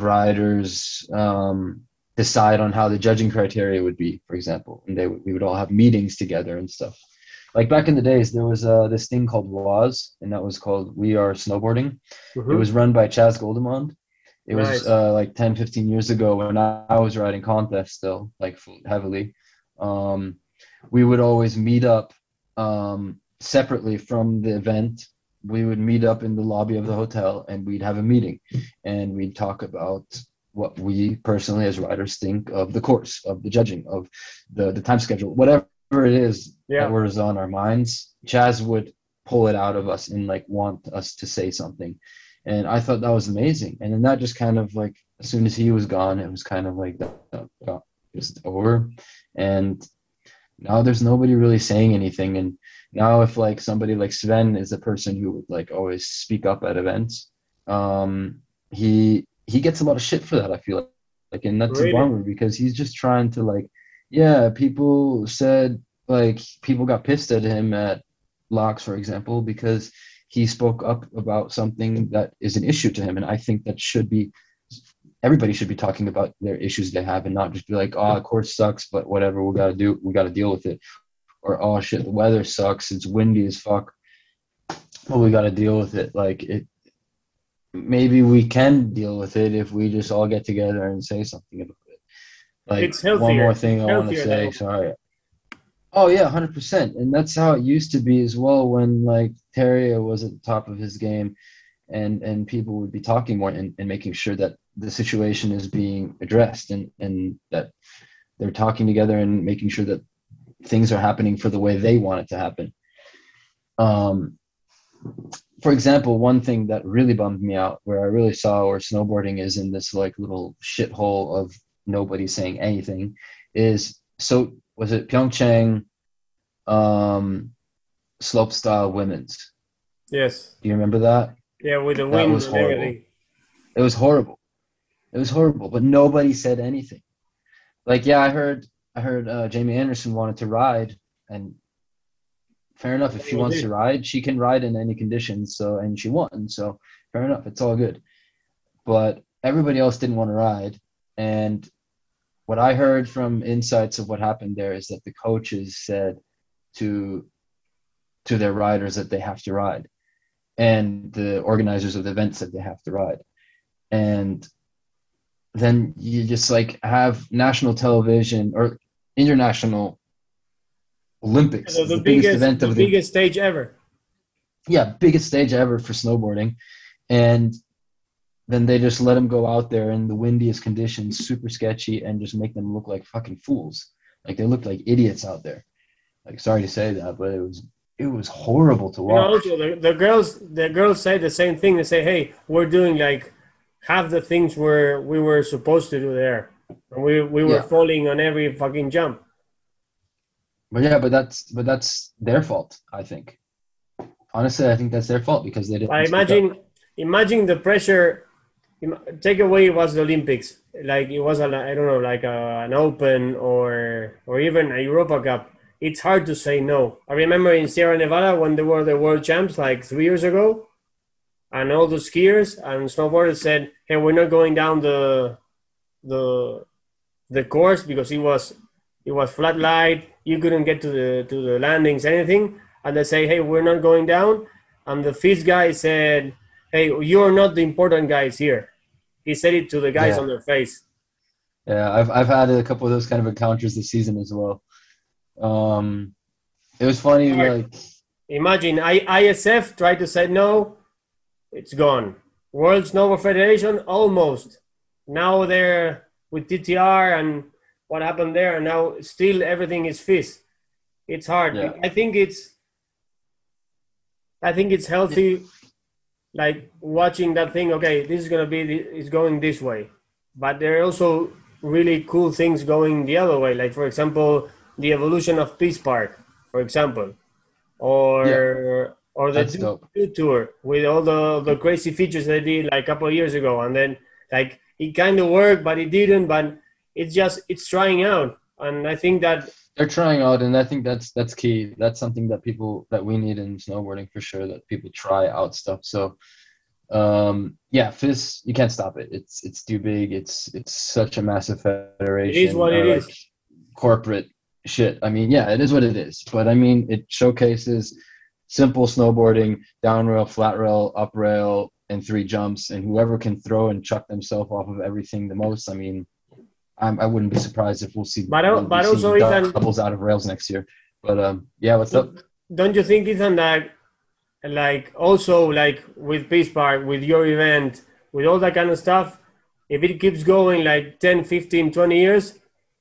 riders um, decide on how the judging criteria would be, for example, and they we would all have meetings together and stuff. Like back in the days, there was uh, this thing called W A S, and that was called We Are Snowboarding. It Mm-hmm. was run by Chaz Goldemond. It was Nice. uh, like ten, fifteen years ago when I, I was riding contest still, like heavily. Um, we would always meet up um, separately from the event. We would meet up in the lobby of the hotel and we'd have a meeting and we'd talk about what we personally as riders think of the course, of the judging, of the, the time schedule, whatever it is that Yeah. was on our minds. Chaz would pull it out of us and like want us to say something. And I thought that was amazing. And then that just kind of like, as soon as he was gone, it was kind of like that, that got just over. And now there's nobody really saying anything. And now if like somebody like Sven is a person who would like always speak up at events, um, he he gets a lot of shit for that, I feel like. Like, and that's a Really. bummer because he's just trying to like, yeah, people said like people got pissed at him at Locks, for example, because he spoke up about something that is an issue to him. And I think that should be everybody should be talking about their issues they have and not just be like, oh, of course sucks, but whatever, we gotta do, we gotta deal with it. Or oh shit, the weather sucks, it's windy as fuck. Well, we gotta deal with it. Like it, maybe we can deal with it if we just all get together and say something about it. Like It's one more healthier. thing It's I want to healthier that say. way. Sorry. Oh yeah, one hundred percent. And that's how it used to be as well when like Terrio was at the top of his game and and people would be talking more and, and making sure that the situation is being addressed and and that they're talking together and making sure that things are happening for the way they want it to happen. Um, for example, one thing that really bummed me out, where I really saw where snowboarding is in this like little shithole of nobody saying anything, is so was it Pyeongchang um, slopestyle women's? Yes. Do you remember that? Yeah, with the That wind was and horrible. everything. It was horrible. It was horrible, but nobody said anything. Like, yeah, I heard, I heard uh, Jamie Anderson wanted to ride, and fair enough. If That she was wants to it. ride, she can ride in any conditions. So, and she won. So, fair enough. It's all good. But everybody else didn't want to ride. And what I heard from insights of what happened there is that the coaches said to to their riders that they have to ride, and the organizers of the events that they have to ride. And then you just like have national television or international Olympics, The, is the the biggest biggest, event the of the biggest stage ever. yeah, biggest stage ever for snowboarding. And then they just let them go out there in the windiest conditions, super sketchy, and just make them look like fucking fools. Like they looked like idiots out there. Like, sorry to say that, but it was it was horrible to You know, watch. also the, the girls, the girls say the same thing. They say, "Hey, we're doing like half the things where we were supposed to do there, and we we were Yeah, falling on every fucking jump." but yeah, but that's but that's their fault, I think. Honestly, I think that's their fault because they But didn't speak up. imagine, imagine the pressure. im- Take away it was the Olympics, like it was a, I don't know, like a, an Open or or even a Europa Cup. It's hard to say no. I remember in Sierra Nevada when they were the world champs, like three years ago, and all the skiers and snowboarders said, "Hey, we're not going down the the the course because it was it was flat light. You couldn't get to the to the landings, anything." And they say, "Hey, we're not going down." And the FIS guy said, "Hey, you're not the important guys here." He said it to the guys on Yeah, their face. yeah, I've I've had a couple of those kind of encounters this season as well. Um, it was funny, Hard. like Imagine I, ISF tried to say no, it's gone. World Snowboard Federation almost. Now they're with T T R and what happened there, and now still everything is FIS. It's hard. yeah, I think it's I think it's healthy, like watching that thing. Okay, this is gonna be it's going this way, but there are also really cool things going the other way. Like for example, the evolution of Peace Park, for example, yeah, or or the that's Duke dope. Duke tour with all the the crazy features they did like a couple of years ago, and then like it kind of worked, but it didn't. But it's just it's trying out, and I think that They're trying out, and I think that's that's key. That's something that people that we need in snowboarding for sure. That people try out stuff. So, um, yeah, FIS, you can't stop it. It's it's too big. It's it's such a massive it is federation what it or like is. corporate shit. I mean, yeah, it is what it is. But I mean, it showcases simple snowboarding, down rail, flat rail, up rail, and three jumps, and whoever can throw and chuck themselves off of everything the most. I mean, I'm, I wouldn't be surprised if we'll see But al- we'll be but also seeing Ethan, doubles out of rails next year. But um, yeah, what's up? don't you think Ethan that like also like with Peace Park, with your event, with all that kind of stuff, if it keeps going like ten, fifteen, twenty years,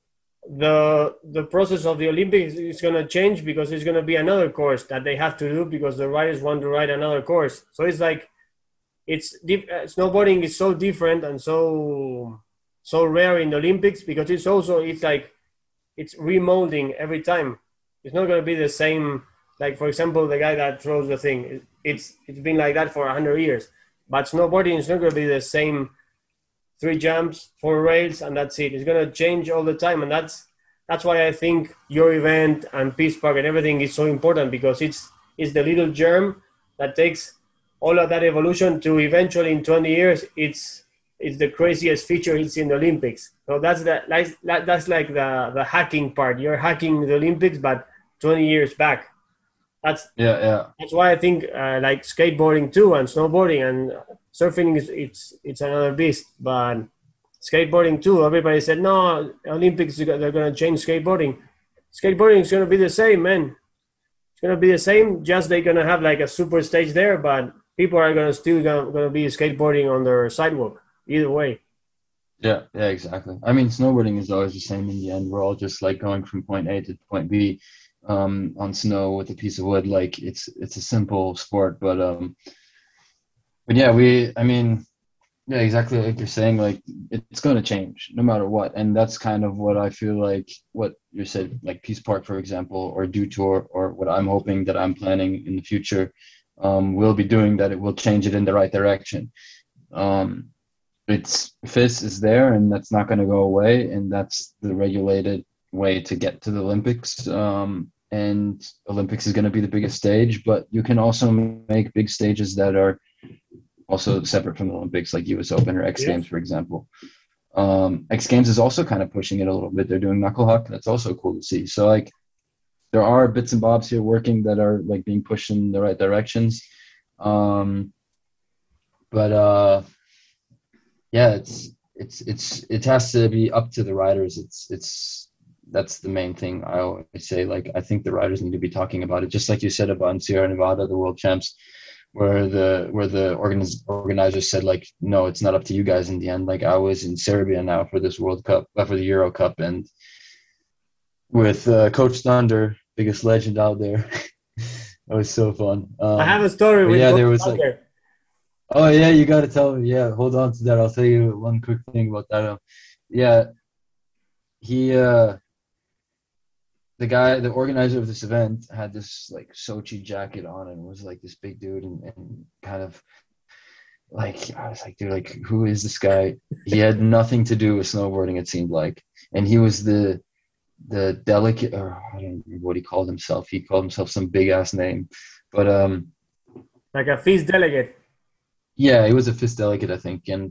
the the process of the Olympics is going to change because it's going to be another course that they have to do because the riders want to ride another course. So it's like it's dif- uh, snowboarding is so different and so so rare in the Olympics because it's also it's like it's remolding every time. It's not going to be the same. Like for example, the guy that throws the thing, it's it's been like that for a hundred years. But snowboarding is not going to be the same. Three jumps, four rails, and that's it. It's going to change all the time, and that's that's why I think your event and Peace Park and everything is so important because it's it's the little germ that takes all of that evolution to eventually in twenty years it's it's the craziest feature it's in the Olympics. So that's the like that's like the the hacking part. You're hacking the Olympics, but twenty years back. That's Yeah, yeah, that's why I think uh, like skateboarding too and snowboarding and surfing is it's it's another beast. But skateboarding too, everybody said no, Olympics they're gonna change skateboarding. Skateboarding is gonna be the same, man. It's gonna be the same. Just they're gonna have like a super stage there, but people are gonna still gonna, gonna be skateboarding on their sidewalk. Either way. yeah, yeah, exactly. I mean, snowboarding is always the same in the end. We're all just like going from point A to point B um, on snow with a piece of wood. Like it's it's a simple sport, but um, but yeah, we. I mean, yeah, exactly like you're saying. Like it's going to change no matter what, and that's kind of what I feel like. What you said, like Peace Park, for example, or Do Tour, or what I'm hoping that I'm planning in the future, um, will be doing. That it will change it in the right direction. Um, it's FIS is there, and that's not going to go away, and that's the regulated way to get to the Olympics. Um, and Olympics is going to be the biggest stage, but you can also make big stages that are also separate from the Olympics, like U S Open or X Yeah. Games, for example. Um, X Games is also kind of pushing it a little bit. They're doing knuckle huck. That's also cool to see. So like, there are bits and bobs here working that are like being pushed in the right directions. Um, but uh, yeah, it's it's it's it has to be up to the riders. It's it's that's the main thing I always say. Like I think the riders need to be talking about it, just like you said about in Sierra Nevada, the world champs, where the where the organiz- organizers said like, no, it's not up to you guys in the end. Like I was in Serbia now for this World Cup, uh, for the Euro Cup, and with uh, Coach Thunder, biggest legend out there. That was so fun. I have Um, a story but with yeah, Coach there was like, Thunder. oh yeah, you got to tell me. Yeah, hold on to that. I'll tell you one quick thing about that. Um, yeah, he, uh, the guy, the organizer of this event, had this like Sochi jacket on and was like this big dude and, and kind of like I was like, dude, like who is this guy? He had nothing to do with snowboarding, it seemed like, and he was the the delicate, or I don't remember what he called himself. He called himself some big ass name, but um, Like a feast delegate. yeah, he was a fist delegate, I think, and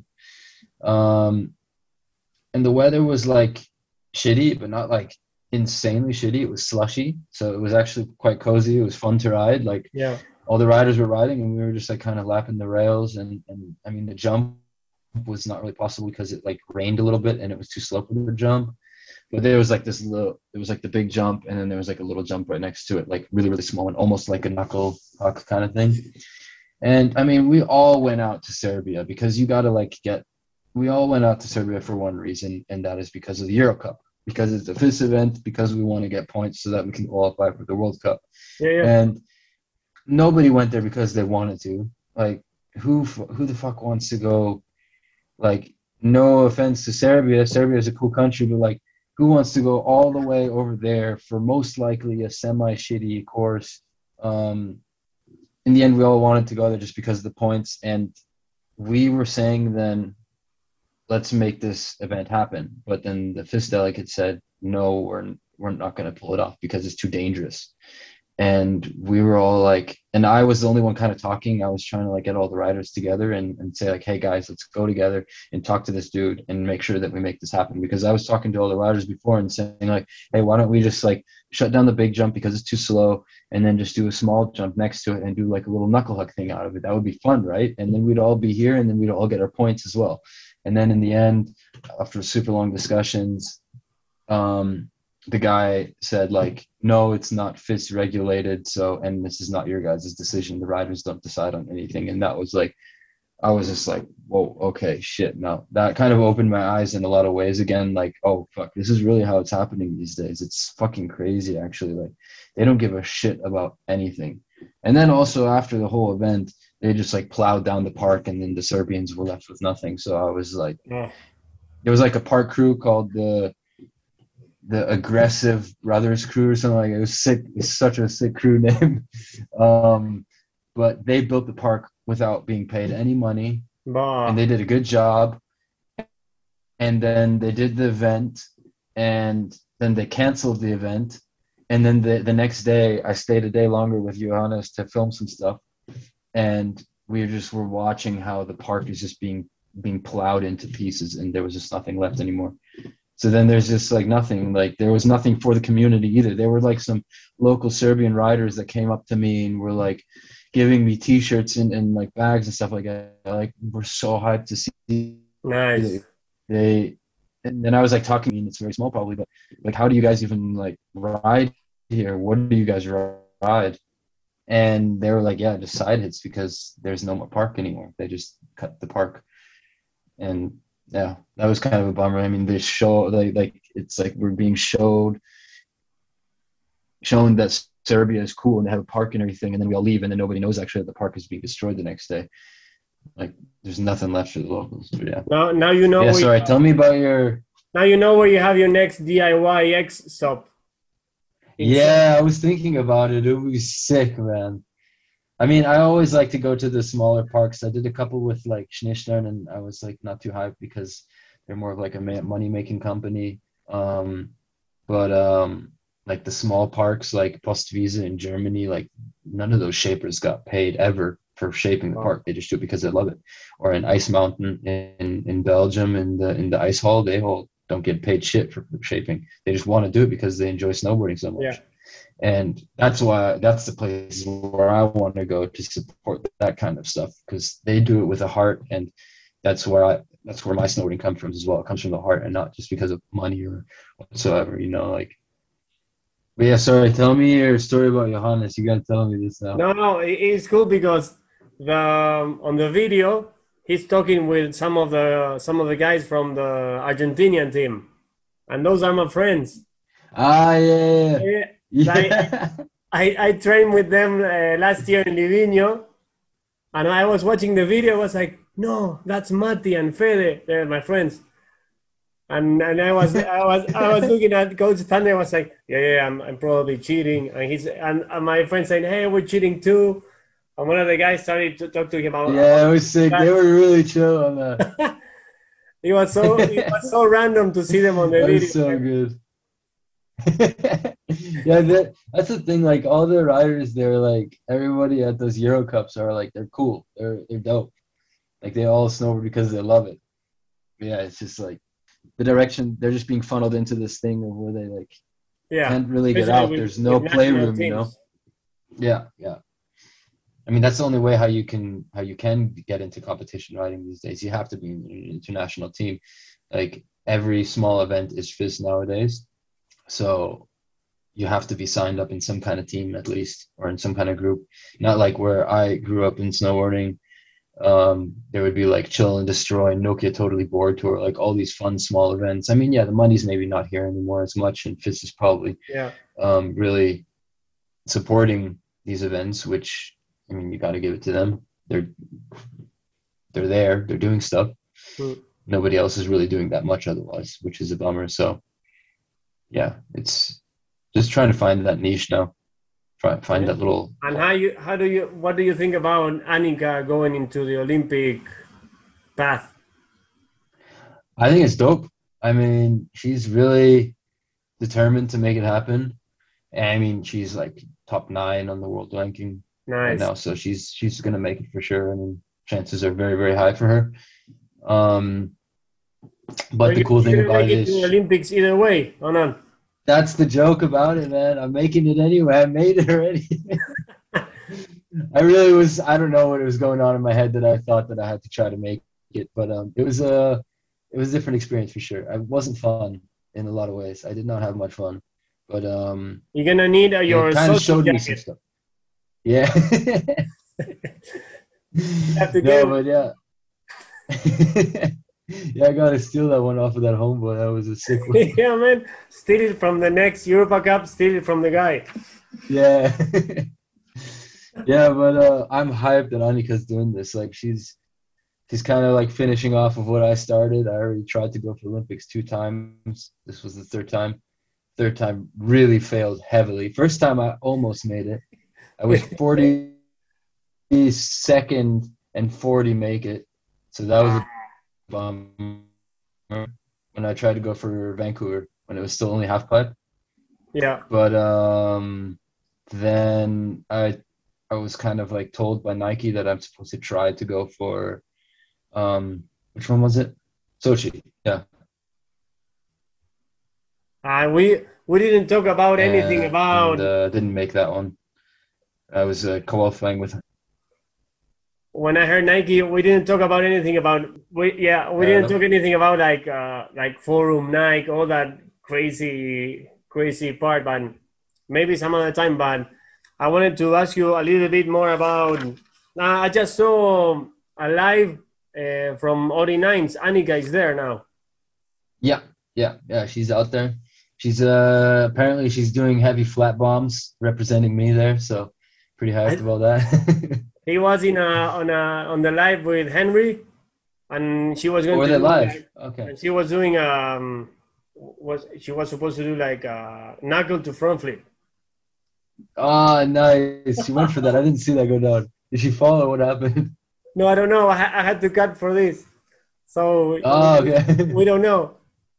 um, and the weather was like shitty, but not like insanely shitty. It was slushy, so it was actually quite cozy. It was fun to ride. Like Yeah. all the riders were riding, and we were just like kind of lapping the rails, and and I mean the jump was not really possible because it like rained a little bit and it was too slow for the jump. But there was like this little, it was like the big jump, and then there was like a little jump right next to it, like really, really small and almost like a knuckle puck kind of thing. And I mean, we all went out to Serbia because you got to like get, we all went out to Serbia for one reason, and that is because of the Euro Cup, because it's a FIS event, because we want to get points so that we can qualify for the World Cup. Yeah, yeah. And nobody went there because they wanted to. Like, who who the fuck wants to go? Like, no offense to Serbia, Serbia is a cool country, but like, who wants to go all the way over there for most likely a semi-shitty course? Um, in the end, we all wanted to go there just because of the points. And we were saying then, let's make this event happen. But then the FIS delegate said, no, we're, we're not going to pull it off because it's too dangerous. And we were all like, and I was the only one kind of talking. I was trying to like get all the riders together and, and say like, hey guys, let's go together and talk to this dude and make sure that we make this happen. Because I was talking to all the riders before and saying like, hey, why don't we just like shut down the big jump because it's too slow, and then just do a small jump next to it and do like a little knuckle hug thing out of it. That would be fun, right? And then we'd all be here and then we'd all get our points as well. And then in the end, after super long discussions, um, the guy said like, no, it's not FIS regulated, so, and this is not your guys' decision. The riders don't decide on anything. And that was like, I was just like, whoa, okay, shit. No, that kind of opened my eyes in a lot of ways again. Like, oh fuck, this is really how it's happening these days. It's fucking crazy, actually. Like, they don't give a shit about anything. And then also after the whole event, they just like plowed down the park, and then the Serbians were left with nothing. So I was like, Yeah. there was like a park crew called the the Aggressive Brothers Crew or something like that. It was sick. It's such a sick crew name. Um, but they built the park without being paid any money, Bah. and they did a good job. And then they did the event, and then they canceled the event. And then the, the next day, I stayed a day longer with Johannes to film some stuff. And we just were watching how the park is just being being plowed into pieces, and there was just nothing left anymore. So then there's just like nothing, like there was nothing for the community either. There were like some local Serbian riders that came up to me and were like giving me t-shirts and, and like bags and stuff like that. Like, we're so hyped to see. Nice. They, and then I was like talking, I mean, it's very small probably, but like, how do you guys even like ride here? What do you guys ride? And they were like, yeah, just side hits because there's no more park anymore. They just cut the park. And yeah, that was kind of a bummer. I mean, they show like like it's like we're being showed shown that Serbia is cool and they have a park and everything, and then we all leave, and then nobody knows actually that the park is being destroyed the next day. Like, there's nothing left for the locals. But yeah. Now, now you know. Yeah. where Sorry. you, Tell me about your. now you know where you have your next D I Y X stop. Yeah, I was thinking about it. It would be sick, man. I mean, I always like to go to the smaller parks. I did a couple with like Schneestern, and I was like not too hyped because they're more of like a money making company. Um, but um, like the small parks like Postwiese in Germany, like none of those shapers got paid ever for shaping the park. They just do it because they love it. Or in Ice Mountain in, in Belgium, in the in the ice hall, they all don't get paid shit for shaping. They just want to do it because they enjoy snowboarding so much. Yeah. And that's why that's the place where I want to go to support that kind of stuff, because they do it with a heart, and that's where I that's where my snowboarding comes from as well. It comes from the heart and not just because of money or whatsoever, you know, like. But yeah, sorry, tell me your story about Johannes. You gotta tell me this now. No, no, it- it's cool because the on the video he's talking with some of the some of the guys from the Argentinian team, and those are my friends. Ah, yeah, Yeah, yeah, I yeah. I, I trained with them uh, last year in Livigno, and I was watching the video. I was like, no, that's Mati and Fede. They're my friends. And and I was I was I was looking at Coach Thunder. I was like, yeah, yeah, I'm, I'm probably cheating. And he's and, and my friend saying, hey, we're cheating too. And one of the guys started to talk to him about, Yeah, about it was sick. They that. were really chill on that. It was so it was so random to see them on the That video. was so good. Yeah, that, that's the thing. Like all the riders, they're like everybody at those Euro Cups are like they're cool. They're they're dope. Like they all snowboard because they love it. Yeah, it's just like the direction they're just being funneled into this thing of where they like Yeah, can't really get especially out. with, There's no with national playroom, you know. teams. Yeah, yeah. I mean, that's the only way how you can how you can get into competition riding these days. You have to be in an international team. Like every small event is F I S nowadays, so you have to be signed up in some kind of team at least, or in some kind of group. Not like where I grew up in snowboarding. Um, there would be like Chill and Destroy, Nokia Totally Board Tour, like all these fun small events. I mean, yeah, the money's maybe not here anymore as much, and F I S is probably Yeah, um, really supporting these events, which I mean, you got to give it to them. They're they're there. They're doing stuff. mm. Nobody else is really doing that much otherwise, which is a bummer. So yeah, it's just trying to find that niche now. Try find that little. And how you how do you what do you think about Annika going into the Olympic path? I think it's dope. I mean, she's really determined to make it happen. And I mean, she's like top nine on the world ranking right Nice. now, so she's she's gonna make it for sure. I mean, chances are very very high for her. Um, So but the you, cool you're thing gonna about make it it to the is Olympics either way, or not? that's the joke about it, man. I'm making it anyway. I made it already. I really was. I don't know what was going on in my head that I thought that I had to try to make it, but um, it was a it was a different experience for sure. It wasn't fun in a lot of ways. I did not have much fun, but um, You're gonna need uh, it your kind of social showed me some jacket. stuff. Yeah. You have to No, get but yeah. Yeah, I gotta steal that one off of that homeboy. That was a sick one. yeah, man. Steal it from the next Europa Cup. Steal it from the guy. Yeah. Yeah, but uh, I'm hyped that Annika's doing this. Like she's she's kind of like finishing off of what I started. I already tried to go for Olympics two times. This was the third time. Third time really failed heavily. First time I almost made it. I was forty-second and forty make it. So that was a bummer when I tried to go for Vancouver when it was still only half pipe. Yeah. But um, then I I was kind of like told by Nike that I'm supposed to try to go for um, which one was it? Sochi. Yeah. And we we didn't talk about anything And about uh, didn't make that one. I was uh, qualifying with. when I heard Nike. We didn't talk about anything about we yeah we Uh, didn't no. talk anything about like uh like forum Nike all that crazy crazy part. But maybe some other time. But I wanted to ask you a little bit more about. Uh, I just saw a live uh, from Ori Nines. Annika is there now. Yeah, yeah, yeah. She's out there. She's uh apparently she's doing heavy flat bombs representing me there. So pretty hyped I, about that. he was in a on a on the live with Henry, and she was going Or to they do live. like, Okay. and she was doing um was she was supposed to do like a knuckle to front flip. Oh, nice. She went for that. I didn't see that go down. Did she fall or what happened? No, I don't know. I, I had to cut for this, so Oh, we, okay. we don't know.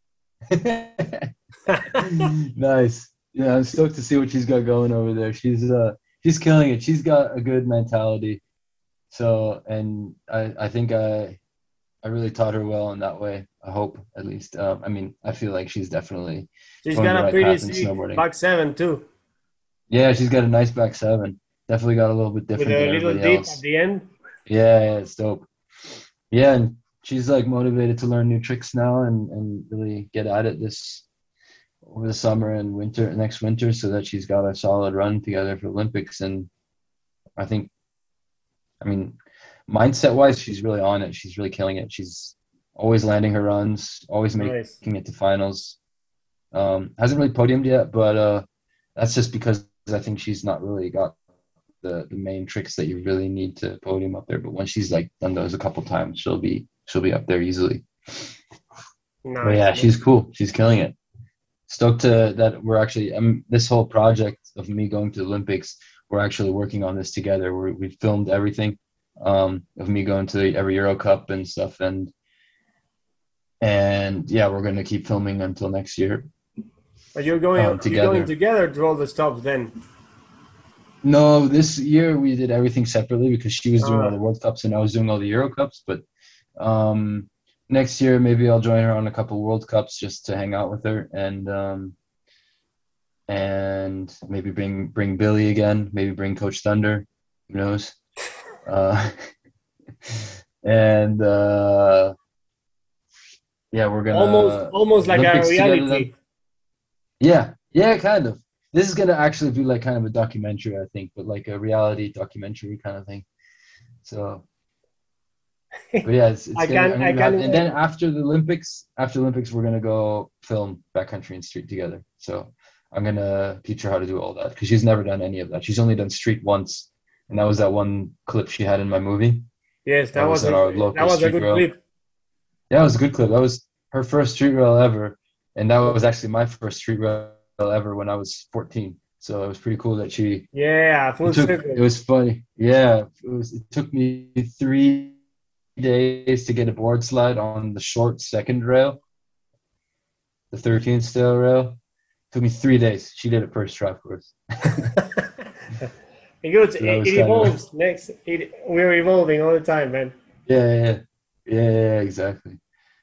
Nice. Yeah, I'm stoked to see what she's got going over there. She's uh she's killing it. She's got a good mentality. So, and I I think I I really taught her well in that way. I hope at least. Um, I mean, I feel like she's definitely She's going the got a right pretty path in sick snowboarding. back seven too. Yeah, she's got a nice back seven. Definitely got a little bit with different than a little everybody dip at else. the end. Yeah, yeah, it's dope. Yeah, and she's like motivated to learn new tricks now and and really get at it this over the summer and winter next winter so that she's got a solid run together for Olympics. And I think, I mean, mindset wise, she's really on it. She's really killing it. She's always landing her runs, always Nice. making it to finals. Um, hasn't really podiumed yet, but uh, that's just because I think she's not really got the the main tricks that you really need to podium up there. But when she's like done those a couple times, she'll be she'll be up there easily. But Nice. yeah, she's cool. She's killing it. Stoked to that we're actually um this whole project of me going to the Olympics. We're actually working on this together. We're, we filmed everything um, of me going to every Euro Cup and stuff, and and yeah, we're gonna keep filming until next year But you're going um, you're going together. together to all the stops then. No, this year we did everything separately because she was doing all the Ah, World Cups and I was doing all the Euro Cups. But um, next year maybe I'll join her on a couple World Cups just to hang out with her and um, and maybe bring bring Billy again. Maybe bring Coach Thunder. Who knows? Uh, and uh, yeah, we're almost gonna almost like a Olympics together then. reality. Yeah, yeah, kind of. This is gonna actually be like kind of a documentary, I think, but like a reality documentary kind of thing. So, but yeah, it's it's I gonna can I'm I gonna have, can and then after the Olympics, after the Olympics, we're gonna go film backcountry and street together. So I'm gonna teach her how to do all that because she's never done any of that. She's only done street once, and that was that one clip she had in my movie. yes, that That was was at a our that local was a street good rail. clip. Yeah, it was a good clip. That was her first street rail ever, and that was actually my first street rail ever when I was fourteen. So it was pretty cool that she. Yeah, It full took. It circle. was funny. Yeah, it was. It took me three days to get a board slide on the short second rail, the thirteen style rail. It took me three days. She did it first try, of course. It goes, So that it, was it kind of. evolves. Next, it, we're evolving all the time, man. Yeah, yeah, yeah, yeah, yeah, exactly.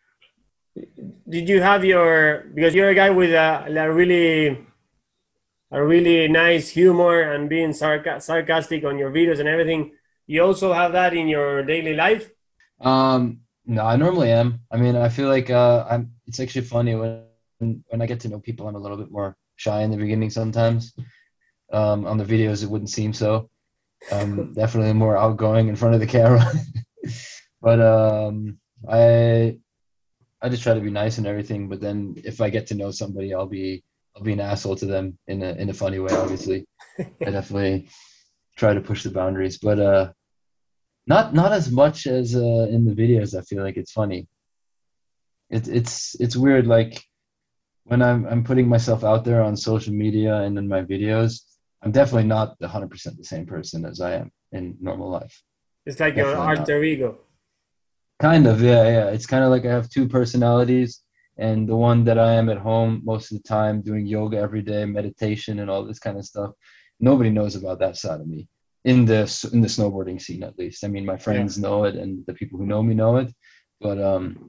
Did you have your because you're a guy with a, a really a really nice humor and being sarca- sarcastic on your videos and everything. You also have that in your daily life. Um, no, I normally am. I mean, I feel like uh, I'm. It's actually funny when when I get to know people, I'm a little bit more shy in the beginning sometimes. Um, on the videos, it wouldn't seem so. Um, definitely more outgoing in front of the camera. But um, I I just try to be nice and everything. But then if I get to know somebody, I'll be I'll be an asshole to them in a in a funny way. Obviously, I definitely try to push the boundaries. But uh, not not as much as uh, in the videos. I feel like it's funny. It's it's it's weird. Like when I'm I'm putting myself out there on social media and in my videos, I'm definitely not one hundred percent the same person as I am in normal life. It's like your Definitely not. alter ego. Kind of, yeah, yeah. It's kind of like I have two personalities, and the one that I am at home most of the time, doing yoga every day, meditation, and all this kind of stuff. Nobody knows about that side of me in the in the snowboarding scene, at least. I mean, my Yeah. friends know it, and the people who know me know it. But um,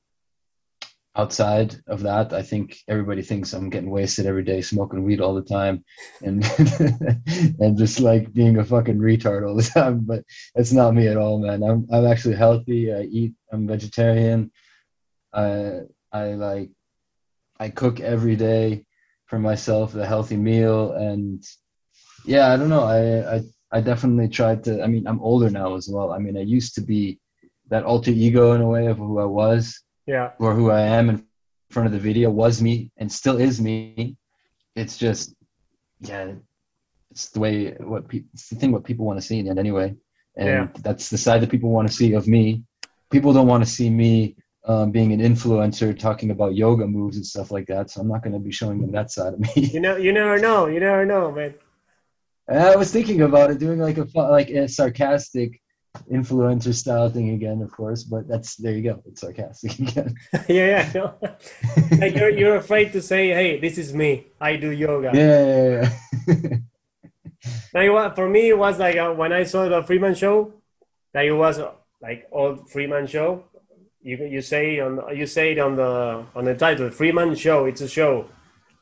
outside of that, I think everybody thinks I'm getting wasted every day, smoking weed all the time, and and just like being a fucking retard all the time. But that's not me at all, man. I'm I'm actually healthy. I eat. I'm vegetarian. I I like I cook every day for myself a healthy meal, and yeah, I don't know. I I I definitely tried to. I mean, I'm older now as well. I mean, I used to be that alter ego in a way of who I was Yeah. or who I am in front of the video was me and still is me. It's just, yeah, it's the way what people, it's the thing what people want to see in it anyway, Yeah. and that's the side that people want to see of me. People don't want to see me um, being an influencer talking about yoga moves and stuff like that. So I'm not going to be showing them that side of You me. know, you never know. You never know, man. I was thinking about it, doing like a fu- like a sarcastic influencer style thing again, of course. But that's there you go. It's sarcastic again. Yeah, yeah. No. Like you're you're afraid to say, "Hey, this is me. I do yoga." Yeah, yeah, yeah. Like what for me, it was like uh, when I saw the Freeman show, that it was uh, like old Freeman show. You you say on you say it on the on the title, Freeman show. It's a show.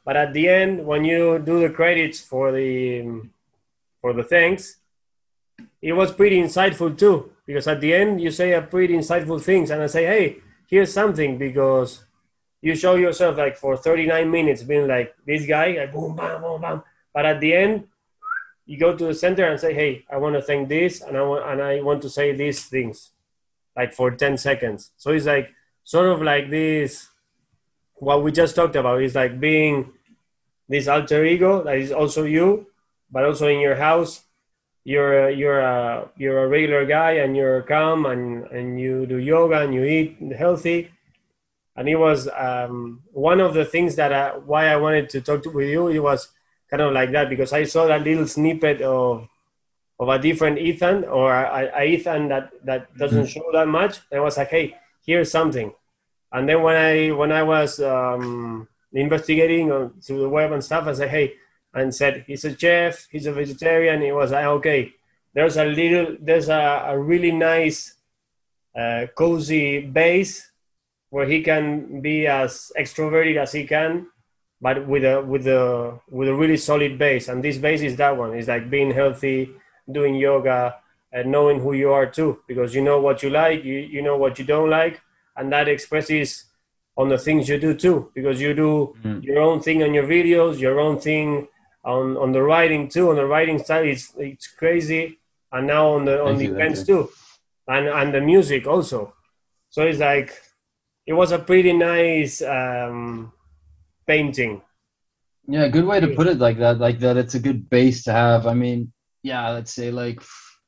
But at the end, when you do the credits for the for the thanks, it was pretty insightful too. Because at the end, you say a pretty insightful things, and I say, hey, here's something because you show yourself like for thirty-nine minutes being like this guy, like boom, bam, boom, bam. But at the end, you go to the center and say, hey, I want to thank this, and I want and I want to say these things, like for ten seconds. So it's like sort of like this. What we just talked about is like being this alter ego that is also you, but also in your house, you're you're a you're a regular guy and you're calm and and you do yoga and you eat healthy. And it was um, one of the things that I, why I wanted to talk to, with you. It was kind of like that because I saw that little snippet of of a different Ethan or a, a Ethan that that doesn't Mm-hmm. show that much. And I was like, hey, here's something. And then when I when I was um, investigating on, through the web and stuff, I said, hey, and said he's a chef, he's a vegetarian. It was like, okay, there's a little, there's a, a really nice, uh, cozy base where he can be as extroverted as he can, but with a with a with a really solid base. And this base is that one. It's like being healthy, doing yoga, and knowing who you are too, because you know what you like, you you know what you don't like, and that expresses on the things you do too, because you do Mm-hmm. your own thing on your videos, your own thing on on the writing too. On the writing side, it's it's crazy, and now on the on Thank the you, thank events you. too, and and the music also. So it's like it was a pretty nice um, painting. Yeah, good way to put it like that. Like that, it's a good base to have. I mean, yeah, let's say like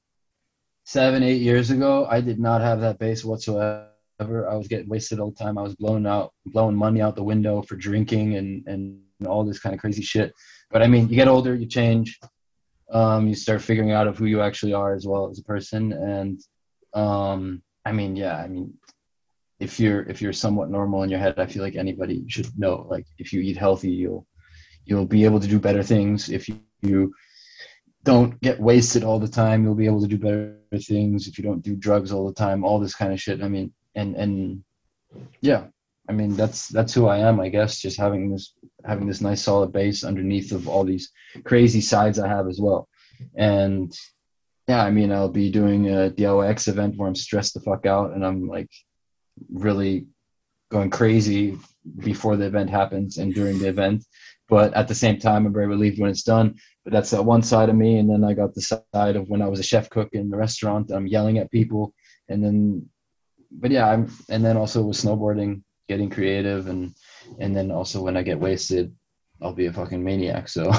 seven, eight years ago, I did not have that base whatsoever. I was getting wasted all the time. I was blowing out, blowing money out the window for drinking and and all this kind of crazy shit. But I mean, you get older, you change, um, you start figuring out of who you actually are as well as a person. And um, I mean, yeah, I mean, if you're if you're somewhat normal in your head, I feel like anybody should know. Like, if you eat healthy, you'll you'll be able to do better things. If you, you don't get wasted all the time, you'll be able to do better things. If you don't do drugs all the time, all this kind of shit. I mean, and and yeah, I mean that's that's who I am, I guess. Just having this having this nice solid base underneath of all these crazy sides I have as well. And yeah, I mean, I'll be doing a D I Y X event where I'm stressed the fuck out and I'm like really going crazy before the event happens and during the event. But at the same time, I'm very relieved when it's done. But that's that one side of me. And then I got the side of when I was a chef cook in the restaurant, I'm yelling at people. And then, but yeah, I'm, and then also with snowboarding, getting creative. And, and then also when I get wasted, I'll be a fucking maniac. So,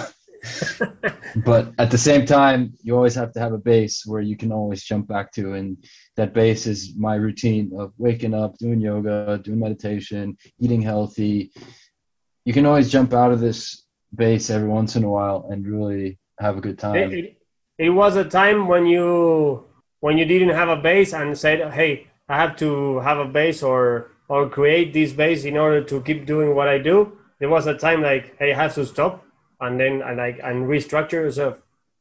but at the same time, you always have to have a base where you can always jump back to. And that base is my routine of waking up, doing yoga, doing meditation, eating healthy. You can always jump out of this base every once in a while and really have a good time. It, it, it was a time when you when you didn't have a base and said, "Hey, I have to have a base or or create this base in order to keep doing what I do." There was a time like, "Hey, I have to stop and then and like and restructure yourself."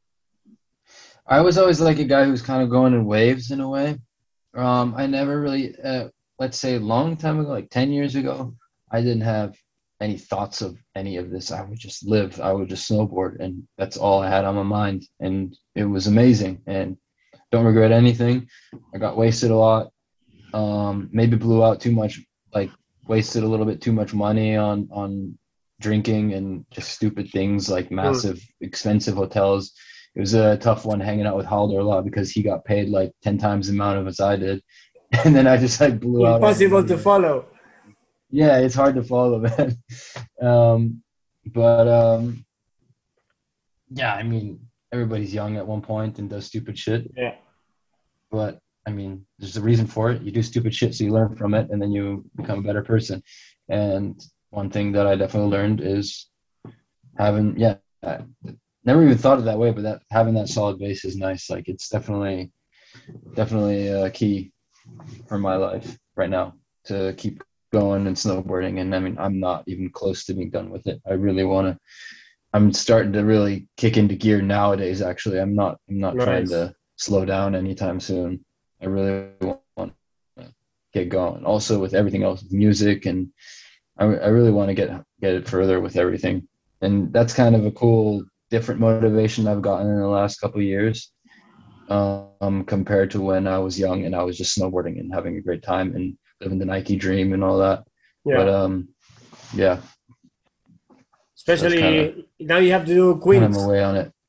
I was always like a guy who's kind of going in waves in a way. Um, I never really, uh, let's say a long time ago, like ten years ago, I didn't have any thoughts of any of this. I would just live. I would just snowboard, and that's all I had on my mind. And it was amazing, and don't regret anything. I got wasted a lot. Um, maybe blew out too much, like wasted a little bit too much money on on drinking and just stupid things like massive, expensive hotels. It was a tough one hanging out with Halder a lot because he got paid like ten times the amount of as I did, and then I just like blew out. Impossible to follow. Yeah, it's hard to follow, man. Um, but um, yeah, I mean, everybody's young at one point and does stupid shit. Yeah. But I mean, there's a reason for it. You do stupid shit, so you learn from it, and then you become a better person. And one thing that I definitely learned is having, yeah, I never even thought of that way, but that having that solid base is nice. Like, it's definitely, definitely a key for my life right now to keep going and snowboarding. And I mean, I'm not even close to being done with it. I really want to, I'm starting to really kick into gear nowadays. Actually, I'm not, I'm not Nice. trying to slow down anytime soon. I really want to get going. Also with everything else, with music, and I, I really want to get, get it further with everything. and that's kind of a cool, different motivation I've gotten in the last couple of years, um, compared to when I was young and I was just snowboarding and having a great time and living the Nike dream and all that. But Yeah. um, yeah, so that's kind of Especially now you have to do kind of my quints. way on it.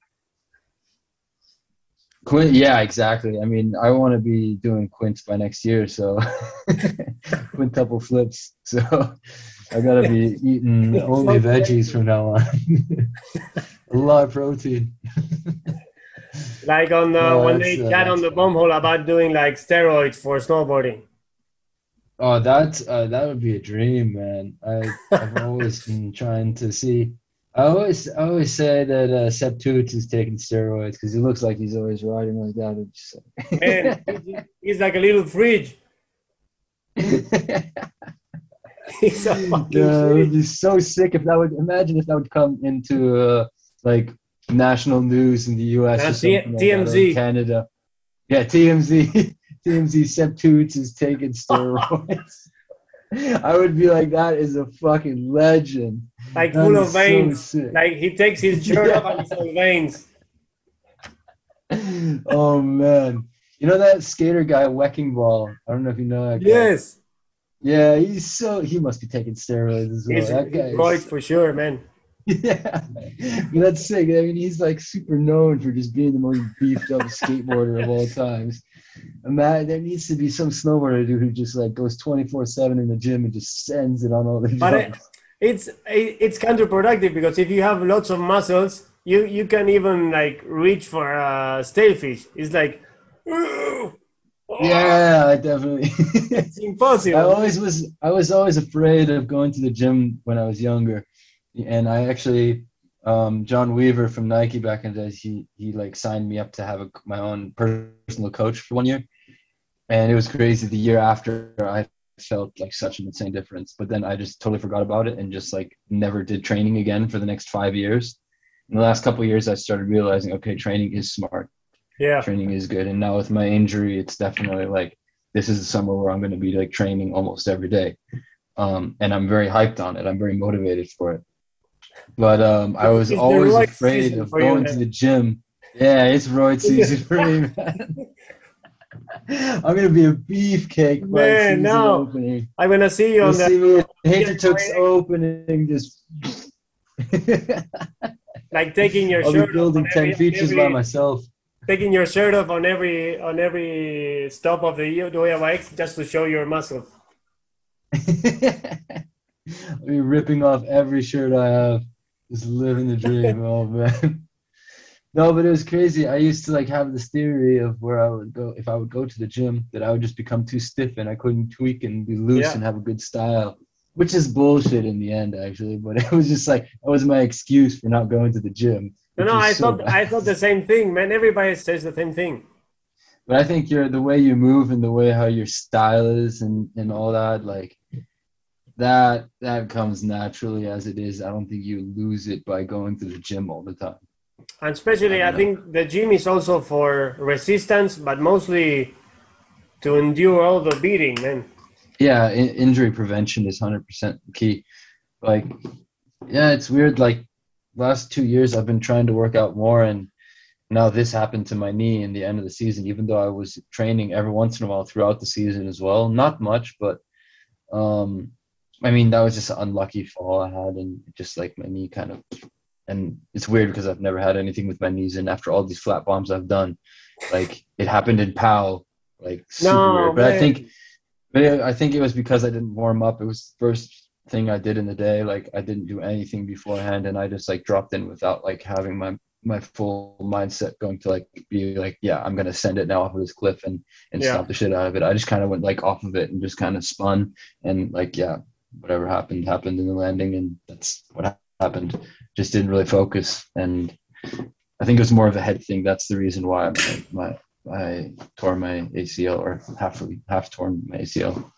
Quint, yeah, exactly. I mean, I want to be doing quints by next year, so quintuple flips. So I gotta be eating only So veggies crazy. from now on. A lot of protein. Like on uh, No, when that's they uh, chat on that's the fun. bomb hole about doing like steroids for snowboarding. Oh, that uh, that would be a dream, man. I I've always been trying to see. I always I always say that uh, Seb Toots is taking steroids because he looks like he's always riding like that. It's Man, he- he's like a little fridge. just- He's a fucking Yeah, it would fridge. be so sick if that would imagine if that would come into uh, like national news in the U S Now or something T- like that, or in TMZ. Canada. Yeah, T M Z, T M Z Seb Toots is taking steroids. I would be like, that is a fucking legend. Like That full of is so veins. sick. Like he takes his shirt off and Yeah. it's all veins. Oh man. You know that skater guy, Wecking Ball? I don't know if you know that guy. Yes, Yeah, he's so he must be taking steroids as well. he's That he's guy right is for sure, man. yeah. But that's sick. I mean, he's like super known for just being the most beefed up skateboarder of all times. And that there needs to be some snowboarder dude who just like goes twenty-four seven in the gym and just sends it on all the But it, jumps. it's it, it's counterproductive because if you have lots of muscles, you you can even like reach for a stalefish. It's like, "Ugh, oh, Yeah, I definitely. it's I impossible, man. always was I was always afraid of going to the gym when I was younger. And I actually um, John Weaver from Nike back in the days, he he like signed me up to have a, my own personal coach for one year. And it was crazy. The year after, I felt like such an insane difference. But then I just totally forgot about it and just like never did training again for the next five years. In the last couple of years, I started realizing, okay, training is smart. Yeah, Training is good. And now with my injury, it's definitely like this is the summer where I'm going to be like training almost every day. Um, and I'm very hyped on it. I'm very motivated for it. But um, I it's, was it's the always right afraid season of for you, going to man. the gym. Yeah, it's roid season for me, man. I'm gonna be a beefcake by Man, season now opening. I'm gonna see you You'll on the see me at Hintertux P S four A X, opening. Just like taking your I'll be shirt off on building ten every on features by every myself. taking your shirt off on every on every stop of the O E M X just to show your muscles. I'll be ripping off every shirt I have. Just living the dream. Oh man. No, but it was crazy. I used to like have this theory of where I would go if I would go to the gym that I would just become too stiff and I couldn't tweak and be loose Yeah. and have a good style, which is bullshit in the end actually. But it was just like that was my excuse for not going to the gym, No, which no, I was so thought bad. I thought the same thing, man. Everybody says the same thing. But I think you're the way you move and the way how your style is and and all that like that that comes naturally as it is. I don't think you lose it by going to the gym all the time. And I especially, don't I know. think the gym is also for resistance, but mostly to endure all the beating, man. Yeah, in, injury prevention is one hundred percent key. Like, yeah, it's weird. Like, last two years, I've been trying to work out more, and now this happened to my knee in the end of the season, even though I was training every once in a while throughout the season as well. Not much, but um, I mean, that was just an unlucky fall I had, and just like my knee kind of. And it's weird because I've never had anything with my knees, and after all these flat bombs I've done, like it happened in POW, like super No, weird. But I think man. But it, I think it was because I didn't warm up. It was the first thing I did in the day. Like I didn't do anything beforehand, and I just like dropped in without like having my my full mindset going to like be like, yeah, I'm gonna send it now off of this cliff and and Yeah. stomp the shit out of it. I just kind of went like off of it and just kind of spun and like yeah, whatever happened happened in the landing, and that's what happened. Just didn't really focus, and I think it was more of a head thing. That's the reason why my, my I tore my A C L or half half torn my A C L.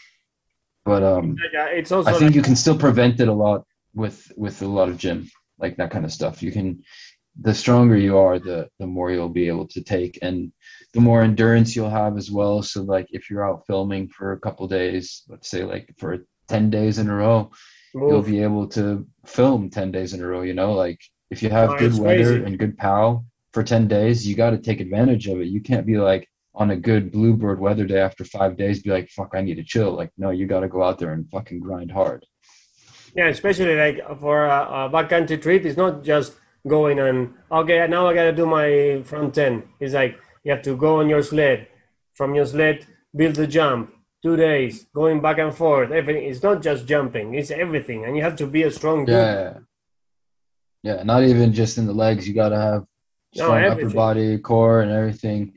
But um, Like, uh, it's I also think like you can still prevent it a lot with with a lot of gym, like that kind of stuff. You can, the stronger you are, the the more you'll be able to take, and the more endurance you'll have as well. So like if you're out filming for a couple days, let's say like for ten days in a row, you'll Move. be able to film ten days in a row, you know, like if you No, have good it's weather crazy. and good POW for ten days, you got to take advantage of it. You can't be like on a good bluebird weather day after five days, be like, fuck, I need to chill. Like, no, you got to go out there and fucking grind hard. Yeah, especially like for a, a backcountry trip, it's not just going and okay, now I gotta do my front end. It's like you have to go on your sled, from your sled, build the jump, two days, going back and forth. Everything. It's not just jumping; it's everything, and you have to be a strong dude. Yeah. Yeah. Not even just in the legs. You got to have No, strong upper everything. body, core, and everything.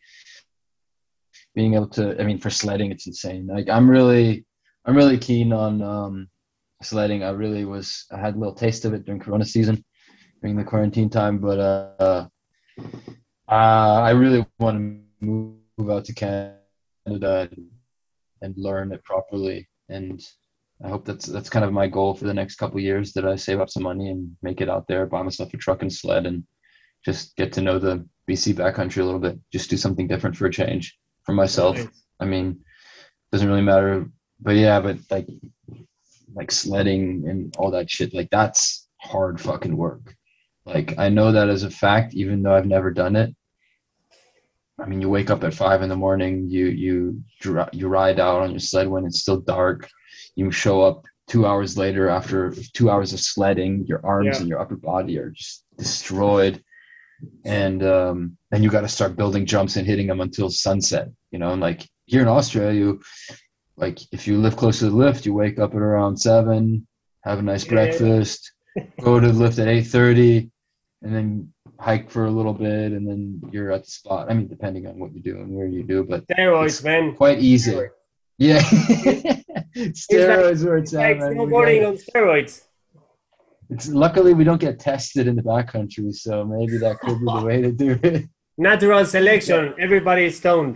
Being able to, I mean, for sledding, it's insane. Like, I'm really, I'm really keen on um, sledding. I really was, I had a little taste of it during Corona season, during the quarantine time, but uh, uh, I really want to move out to Canada and, and learn it properly. And I hope that's that's kind of my goal for the next couple of years, that I save up some money and make it out there, buy myself a truck and sled, and just get to know the B C backcountry a little bit. Just do something different for a change for myself. Nice. I mean, doesn't really matter, but yeah, but like like sledding and all that shit, like that's hard fucking work. Like I know that as a fact, even though I've never done it. I mean, you wake up at five in the morning, you you you ride out on your sled when it's still dark. You show up two hours later after two hours of sledding. Your arms Yeah. and your upper body are just destroyed, and um, then you got to start building jumps and hitting them until sunset. You know, and like here in Australia, you like if you live close to the lift, you wake up at around seven, have a nice Yeah. breakfast, go to the lift at eight thirty, and then hike for a little bit, and then you're at the spot. I mean, depending on what you do and where you do, but Steroids, it's man. quite easy. Steroids. Yeah, It- It's like steroids where it's it's at, like man. We got snowboarding it. on steroids. It's luckily we don't get tested in the backcountry, so maybe that could be the way to do it. Natural selection. Everybody is stoned.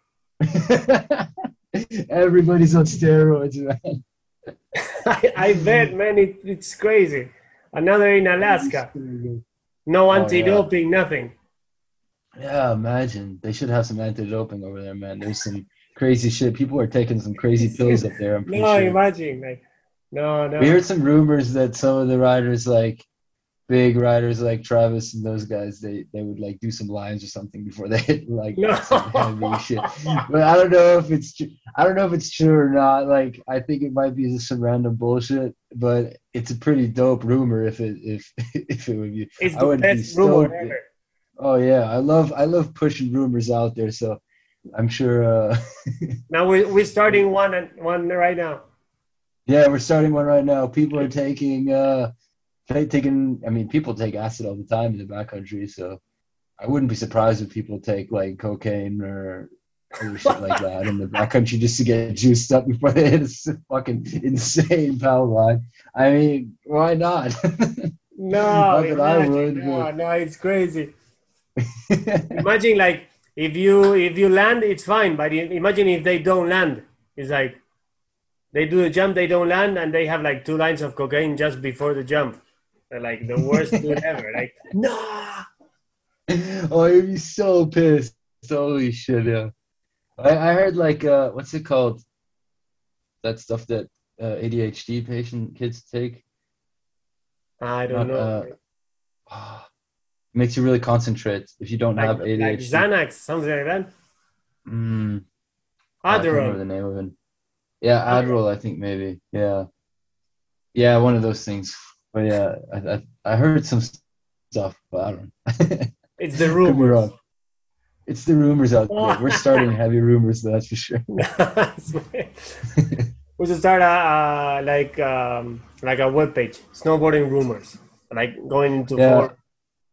Everybody's on steroids, man. I, I bet, man, it, it's crazy. Another in Alaska. No Oh yeah, anti-doping, nothing. yeah. Imagine they should have some anti-doping over there, man. There's some crazy shit. People are taking some crazy pills up there. I'm pretty No, sure. imagine, like, no, We no, heard some rumors that some of the riders, like big riders like Travis and those guys, they they would like do some lines or something before they hit like no. some heavy shit. But I don't know if it's true. I don't know if it's true or not. Like I think it might be just some random bullshit, but it's a pretty dope rumor if it if if it would be. It's I the would be best rumor stoked. ever. Oh yeah, I love I love pushing rumors out there. So I'm sure. Uh, Now we we're starting one and one right now. yeah, we're starting one right now. People are taking. Uh, ta- taking. I mean, people take acid all the time in the backcountry, so I wouldn't be surprised if people take like cocaine or other shit like that in the backcountry just to get juiced up before they hit a s- fucking insane power line. I mean, why not? No, Not that I imagine, would, no, but no, it's crazy. Imagine like if you if you land, it's fine, but i- imagine if they don't land. It's like they do the jump, they don't land, and they have like two lines of cocaine just before the jump. They're like the worst dude ever. Like, no. oh, you'd be so pissed. Holy shit, yeah. I, I heard like uh what's it called? That stuff that uh, A D H D patient kids take. I don't Not know. uh ah, makes you really concentrate if you don't Like have like A D H D. Xanax, something like that. Mm, oh, I can't remember Adderall. the name of it. Yeah, Adderall. Adderall, I think maybe. Yeah. Yeah, one of those things. But yeah, I I, I heard some stuff, but I don't know. It's the Could be rumors. wrong. It's the rumors out there. We're starting heavy rumors, that's for sure. Nice, man. We should start a, uh, like um, like a web page, snowboarding rumors, like going into Yeah. four.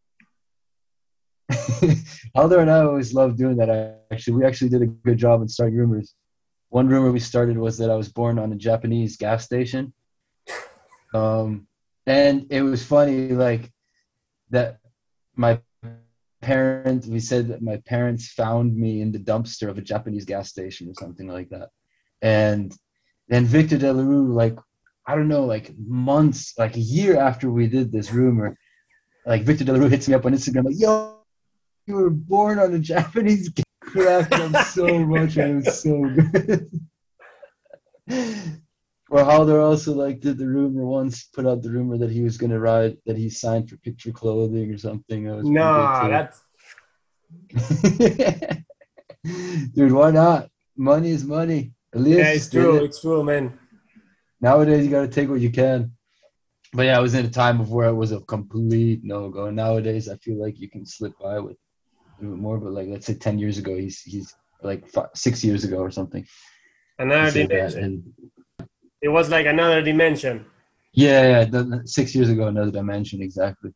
Aldo and I always loved doing that. Actually, we actually did a good job in starting rumors. One rumor we started was that I was born on a Japanese gas station. Um, and it was funny, like that my parents, we said that my parents found me in the dumpster of a Japanese gas station or something like that. And then Victor De La Rue, like, I don't know, like months, like a year after we did this rumor, like Victor De La Rue hits me up on Instagram, like, yo, you were born on a Japanese gas cracked up so much and it was so good. Or Halder also like did the rumor once, put out the rumor that he was gonna ride, that he signed for Picture Clothing or something. That was pretty No, that's good too. Dude, why not? Money is money. yeah, Elias it's just did true. it. It's true, man. Nowadays, you got to take what you can. But yeah, I was in a time of where it was a complete no go. Nowadays, I feel like you can slip by with a little bit more. But like, let's say ten years ago, he's he's like five, six years ago or something. Another He said that, dimension. and It was like another dimension. yeah, yeah, the, six years ago, another dimension, exactly.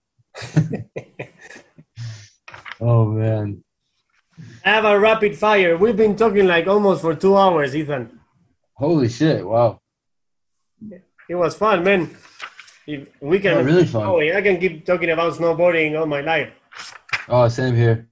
Oh man, I have a rapid fire. We've been talking like almost for two hours, Ethan. holy shit! Wow, It was fun, man. If we can yeah, really fun. Oh, I can keep talking about snowboarding all my life. Oh, same here.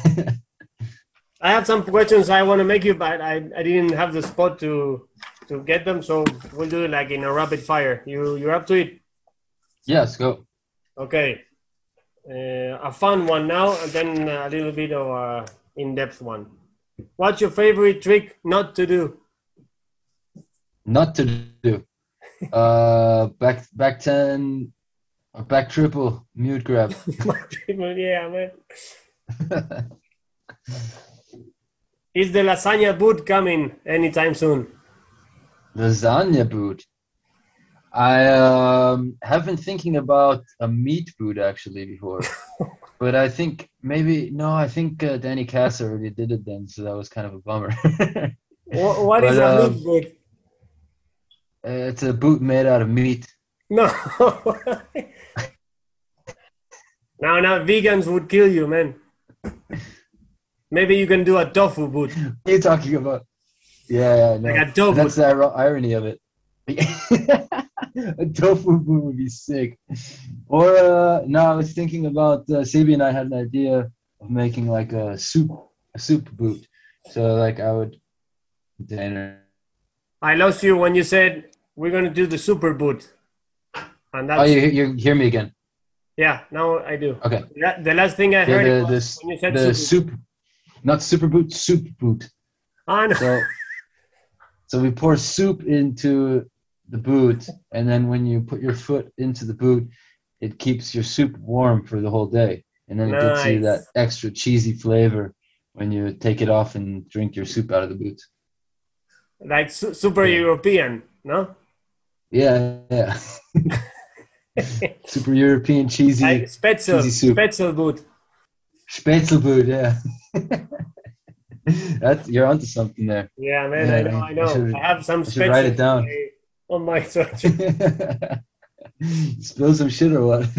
I have some questions I want to make you, but I, I didn't have the spot to to get them, so we'll do it like in a rapid fire. You you're up to it? Yes, go. Okay. Uh, a fun one now, and then a little bit of a in-depth one. What's your favorite trick not to do? Not to do. Uh, back back ten, or back triple, mute grab. Yeah, man. Is the lasagna boot coming anytime soon? Lasagna boot. I um, have been thinking about a meat boot actually before, but I think maybe no. I think uh, Danny Cass already did it then, so that was kind of a bummer. What, what But, is a um, meat boot? Uh, it's a boot made out of meat. No. Now, now, vegans would kill you, man. Maybe you can do a tofu boot. What are you talking about? Yeah, yeah, no. Like a tofu. That's the ir- irony of it. A tofu boot would be sick. Or uh, no, I was thinking about uh, Sabi and I had an idea of making like a soup, a soup boot. So like I would dinner. I lost you when you said we're gonna do the super boot, and that's Oh, you you hear me again? yeah. Now I do. Okay. That, the last thing I heard The, was the, when you said the super. soup, not super boot, soup boot. Ah, no. So, so we pour soup into the boot, and then when you put your foot into the boot, it keeps your soup warm for the whole day, and then it gives you that Nice. extra cheesy flavor when you take it off and drink your soup out of the boot. Like su- super Yeah. European, no? Yeah, yeah. Super European cheesy Like Spätzle, cheesy soup. Spätzle boot. Spätzle boot, yeah. That's you're onto something there. Yeah, man. Yeah, I know. I- I I know. I, should- have some I should write it Spätzle down. on my sweatshirt. Spill some shit or what?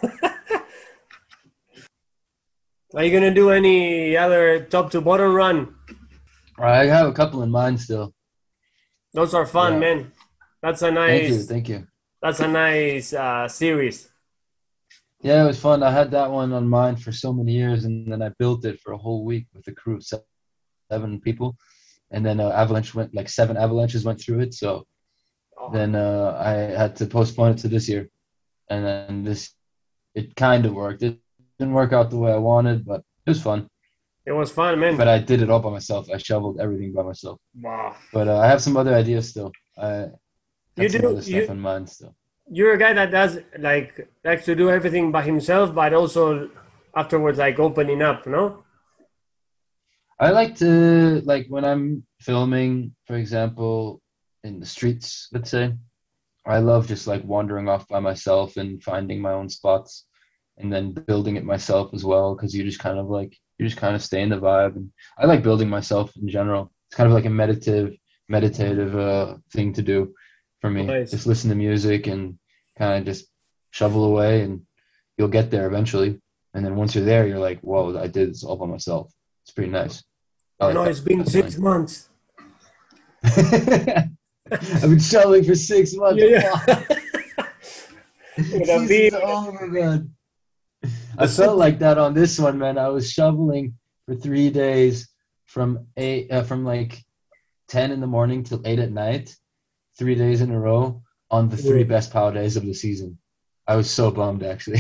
Are you gonna do any other top to bottom run? I have a couple in mind still. Those are fun, Yeah. man. That's a Thank you, nice. thank you. That's a nice uh, series. Yeah, it was fun. I had that one on mine for so many years, and then I built it for a whole week with a crew of se- seven people, and then uh, avalanche went like seven avalanches went through it. So Oh, then uh, I had to postpone it to this year, and then this it kind of worked. It didn't work out the way I wanted, but it was fun. it was fun, man. But I did it all by myself. I shoveled everything by myself. Wow. But uh, I have some other ideas still. I You have some do- other stuff you- in mind still. You're a guy that does like likes to do everything by himself, but also afterwards like opening up, no? I like to like when I'm filming, for example, in the streets, let's say. I love just like wandering off by myself and finding my own spots, and then building it myself as well. Because you just kind of like you just kind of stay in the vibe, and I like building myself in general. It's kind of like a meditative, meditative uh, thing to do for me. Nice. Just listen to music and kind of just shovel away, and you'll get there eventually. And then once you're there, you're like, "Whoa, I did this all by myself." It's pretty nice. I I like know that. it's been That's six months. nice. I've been shoveling for six months. Yeah, yeah. With a Season's beer. over, man. I felt like that on this one, man. I was shoveling for three days from eight, uh, from like ten in the morning till eight at night, three days in a row on the three Yeah. best power days of the season. I was so bummed, actually.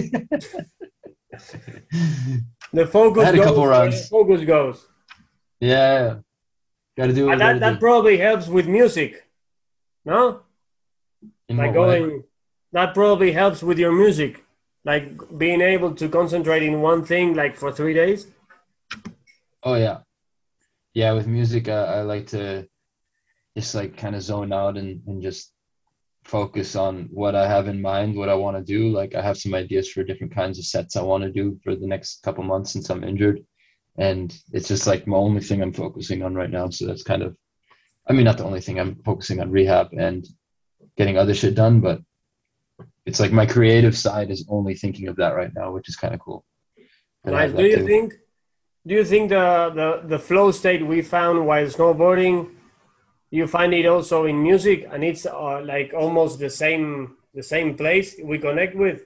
The focus I had a goes couple where runs. the focus goes. Yeah, got to do what And you that, gotta that do. probably helps with music. No? In Like what way? going, that probably helps with your music, like being able to concentrate in one thing like for three days. Oh yeah, yeah. With music, I, I like to just like kind of zone out and and just focus on what I have in mind, what I want to do. Like I have some ideas for different kinds of sets I want to do for the next couple months since I'm injured. And it's just like my only thing I'm focusing on right now. So that's kind of, I mean, not the only thing. I'm focusing on rehab and getting other shit done, but it's like my creative side is only thinking of that right now, which is kind of cool that I Nice. have Do that you too. think? Do you think the the the flow state we found while snowboarding, you find it also in music, and it's uh, like almost the same the same place we connect with?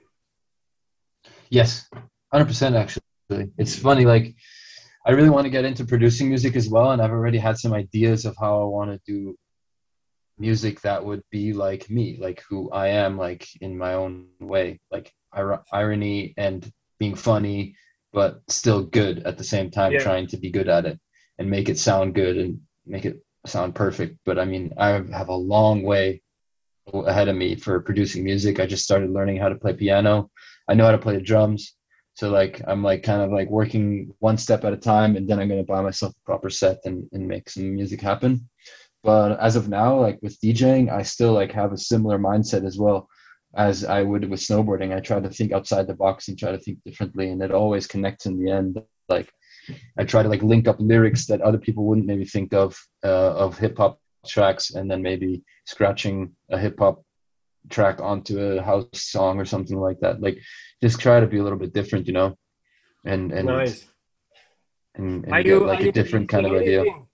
Yes, one hundred percent actually. It's funny, like I really want to get into producing music as well, and I've already had some ideas of how I want to do music that would be like me, like who I am, like in my own way, like ir- irony and being funny, but still good at the same time, Yeah. trying to be good at it and make it sound good and make it sound perfect. But I mean, I have a long way ahead of me for producing music. I just started learning how to play piano. I know how to play the drums. So like I'm like kind of like working one step at a time, and then I'm gonna buy myself a proper set and, and make some music happen. But as of now, like with DJing, I still like have a similar mindset as well as I would with snowboarding. I try to think outside the box and try to think differently, and it always connects in the end. Like I try to like link up lyrics that other people wouldn't maybe think of uh, of hip hop tracks, and then maybe scratching a hip hop track onto a house song or something like that. Like just try to be a little bit different, you know, and and Nice. and Are and get you are like a you different kind releasing of idea. anything?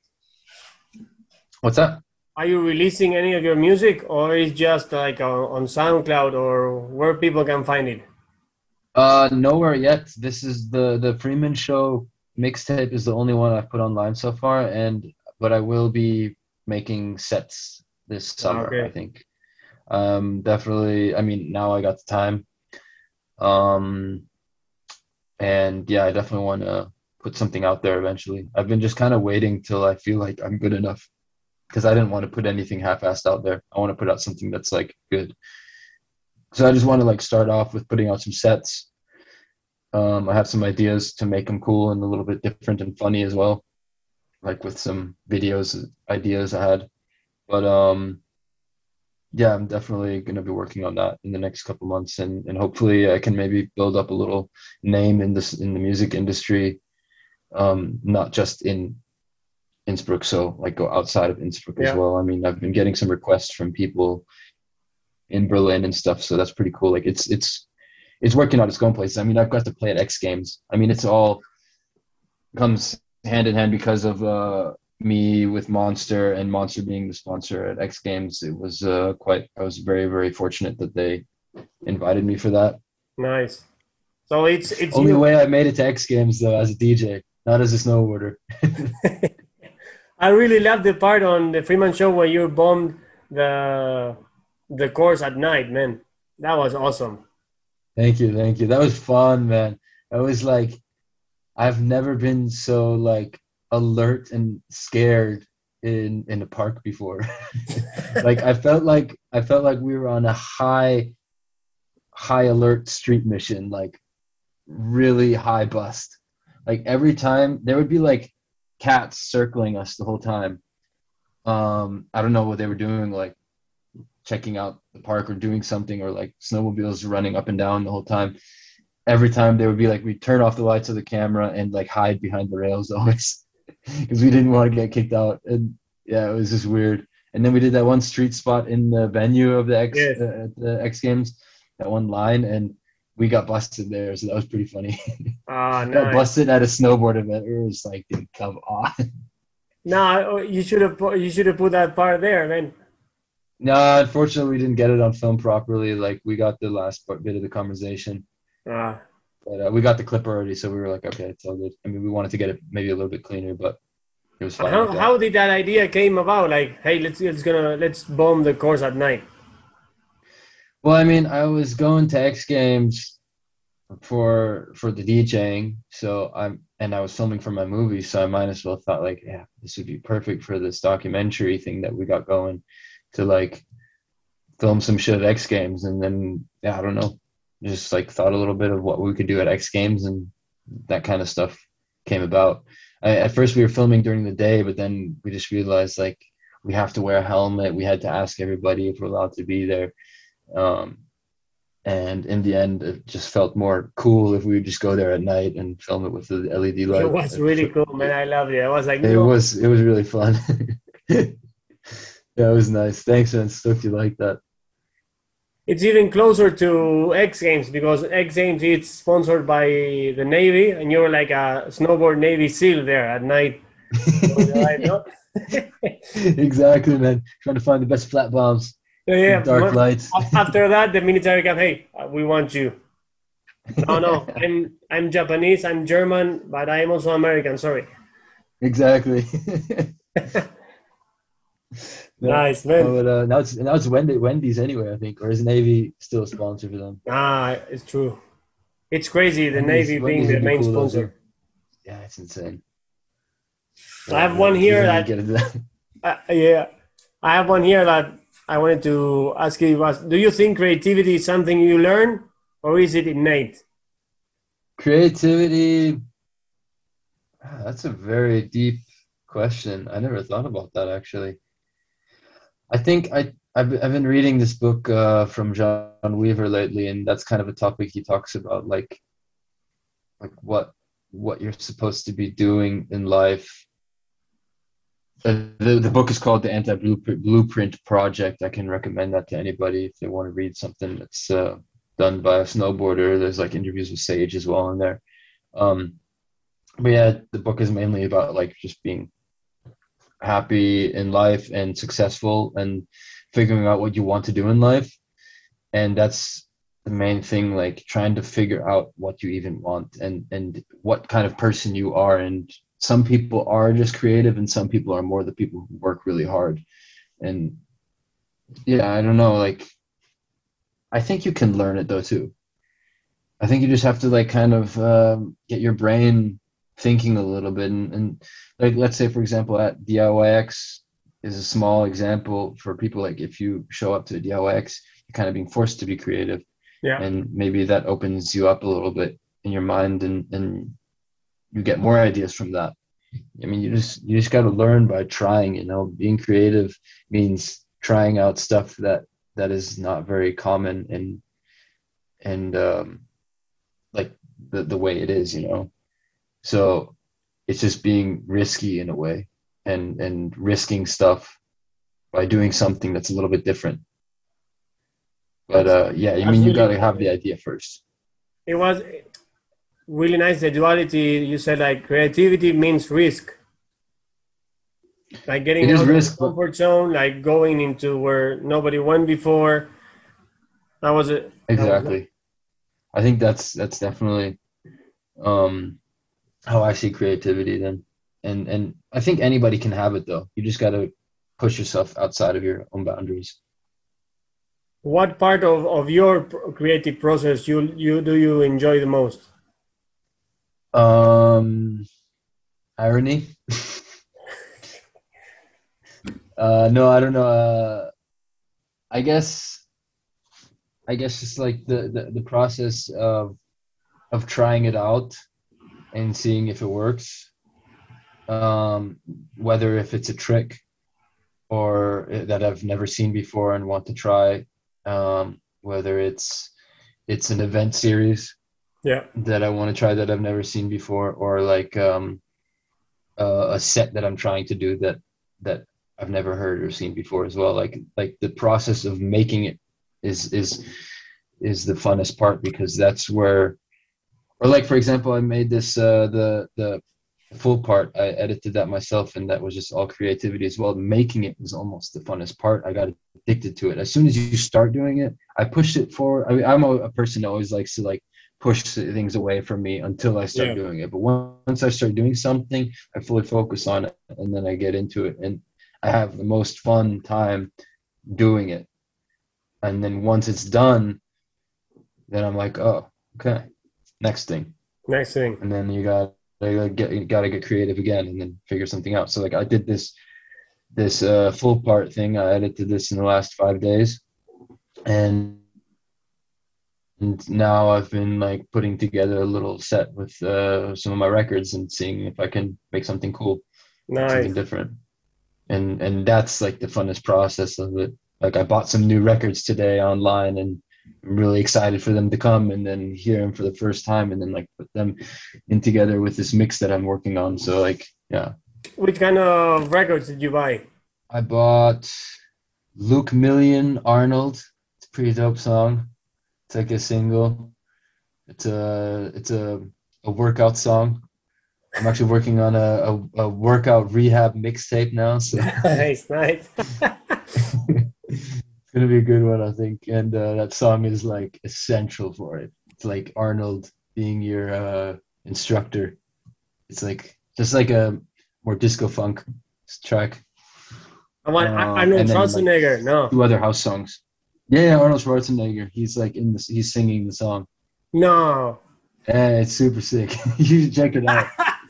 What's that? Are you releasing any of your music, or is just like on, on SoundCloud or where people can find it? Uh, nowhere yet. This is the the Freeman Show mixtape is the only one I've put online so far, and but I will be making sets this Ah, summer, I okay. think. Um, definitely. I mean, now I got the time. Um, and yeah, I definitely want to put something out there eventually. I've been just kind of waiting till I feel like I'm good enough because I didn't want to put anything half-assed out there. I want to put out something that's like good. So I just want to like start off with putting out some sets. Um, I have some ideas to make them cool and a little bit different and funny as well, like with some videos ideas I had. But um, yeah, I'm definitely going to be working on that in the next couple months, and and hopefully I can maybe build up a little name in this in the music industry, um, not just in Innsbruck, so like go outside of Innsbruck as Yeah. well. I mean, I've been getting some requests from people in Berlin and stuff, so that's pretty cool. Like it's it's it's working out its going places. I mean, I've got to play at X Games. I mean, it's all comes hand in hand because of uh, me with Monster and Monster being the sponsor at X Games. It was uh, quite. I was very very fortunate that they invited me for that. Nice. So it's it's Only you. way I made it to X Games though as a D J, not as a snowboarder. I really love the part on the Freeman show where you bombed the the course at night, man. That was awesome. Thank you, thank you. That was fun, man. I was like, I've never been so like alert and scared in in a park before. Like I felt like I felt like we were on a high high alert street mission, like really high bust. Like every time there would be like cats circling us the whole time. Um, I don't know what they were doing, like checking out the park or doing something, or like snowmobiles running up and down the whole time. Every time they would be like, we turn off the lights of the camera and like hide behind the rails always because we didn't want to get kicked out. And yeah, it was just weird. And then we did that one street spot in the venue of the X Yes. uh, at the X Games, that one line, and we got busted there. So that was pretty funny. Ah, Got nice. busted at a snowboard event. It was like, dude, come on. No, you should have put, you should have put that part there, man. No, unfortunately, we didn't get it on film properly. Like we got the last part, bit of the conversation, Ah, but uh, we got the clip already, so we were like, okay, it's all good. I mean, we wanted to get it maybe a little bit cleaner, but it was fine how like that. how did that idea came about? Like, hey, let's let's gonna let's bomb the course at night. Well, I mean, I was going to X Games for for the DJing, so I'm and I was filming for my movie, so I might as well thought like, yeah, this would be perfect for this documentary thing that we got going to like film some shit at X Games, and then yeah, I don't know, just like thought a little bit of what we could do at X Games, and that kind of stuff came about. I, at first, we were filming during the day, but then we just realized like we have to wear a helmet. We had to ask everybody if we're allowed to be there. Um, and in the end, it just felt more cool if we would just go there at night and film it with the L E D light. It was really cool, man. I loved it. I was like, It no. was it was really fun. Yeah, it was nice. Thanks, man. Stoked you like that. It's even closer to X Games because X Games is sponsored by the Navy, and you're like a snowboard Navy SEAL there at night. Exactly, man. Trying to find the best flat bombs. Yeah, dark lights. After that, the military come, hey, we want you. No, no, I'm I'm Japanese, I'm German, but I'm also American. Sorry. Exactly. Nice, man. No, but, uh, now it's now it's Wendy, Wendy's anyway, I think, or is Navy still a sponsor for them? Ah, it's true. It's crazy, the Wendy's, Navy Wendy's being the be main cool sponsor. Yeah, it's insane. I have one here that, that. uh, yeah, I have one here that I wanted to ask you was, do you think creativity is something you learn or is it innate? Creativity, that's a very deep question. I never thought about that, actually. I think I, I've, I've been reading this book uh, from John Weaver lately, and that's kind of a topic he talks about, like, like what what you're supposed to be doing in life. The, the, the book is called The Anti-Blueprint Project. I can recommend that to anybody if they want to read something that's uh, done by a snowboarder. There's like interviews with Sage as well in there. Um, but yeah, the book is mainly about like just being happy in life and successful and figuring out what you want to do in life. And that's the main thing, like trying to figure out what you even want and, and what kind of person you are. And some people are just creative and some people are more the people who work really hard. And yeah, I don't know, like, I think you can learn it though too. I think you just have to like kind of um, get your brain thinking a little bit. And, and like, let's say, for example, at D I Y X is a small example for people. Like if you show up to a D I Y X, you're kind of being forced to be creative. Yeah. And maybe that opens you up a little bit in your mind and, and you get more ideas from that. I mean, you just, you just got to learn by trying, you know, being creative means trying out stuff that, that is not very common and, and, um, like the, the way it is, you know? So it's just being risky in a way and, and risking stuff by doing something that's a little bit different. But uh, yeah, I mean, you got to have the idea first. It was really nice, the duality. You said like creativity means risk. Like getting out of the comfort zone, like going into where nobody went before. That was it. Exactly. I think that's that's definitely um, how I see creativity then. And and I think anybody can have it though. You just got to push yourself outside of your own boundaries. What part of, of your creative process you you do you enjoy the most? Um, irony. uh, no, I don't know. Uh, I guess, I guess just like the, the, the process of of trying it out and seeing if it works. Um, whether if it's a trick or that I've never seen before and want to try. Um, whether it's it's an event series yeah that I want to try that I've never seen before, or like um, uh, a set that I'm trying to do that that I've never heard or seen before as well. Like like the process of making it is is is the funnest part, because that's where, or like for example, I made this uh, the the full part. I edited that myself, and that was just all creativity as well. Making it was almost the funnest part. I got addicted to it. As soon as you start doing it, I pushed it forward. I mean, I'm a, a person that always likes to like push things away from me until I start yeah. doing it. But once I start doing something, I fully focus on it, and then I get into it, and I have the most fun time doing it. And then once it's done, then I'm like, oh, okay, next thing. Next thing. And then you got I get you got to get creative again and then figure something out. So like I did this this uh, full part thing. I edited this in the last five days, and and now I've been like putting together a little set with uh, some of my records and seeing if I can make something cool, make something Nice. different. And and that's like the funnest process of it. Like I bought some new records today online, and I'm really excited for them to come and then hear them for the first time, and then like put them in together with this mix that I'm working on. So like yeah, Which kind of records did you buy? I bought Luke Million Arnold. It's a pretty dope song. It's like a single. It's a it's a a workout song. I'm actually working on a, a, a workout rehab mixtape now, so Nice, nice. it's gonna be a good one, I think. And uh, that song is like essential for it. It's like Arnold being your uh, instructor. It's like just like a more disco funk track. I want Um, Arnold and then like Schwarzenegger. No, two other house songs. Yeah, yeah, Arnold Schwarzenegger. He's like in this. He's singing the song. no. Yeah, it's super sick. You should check it out.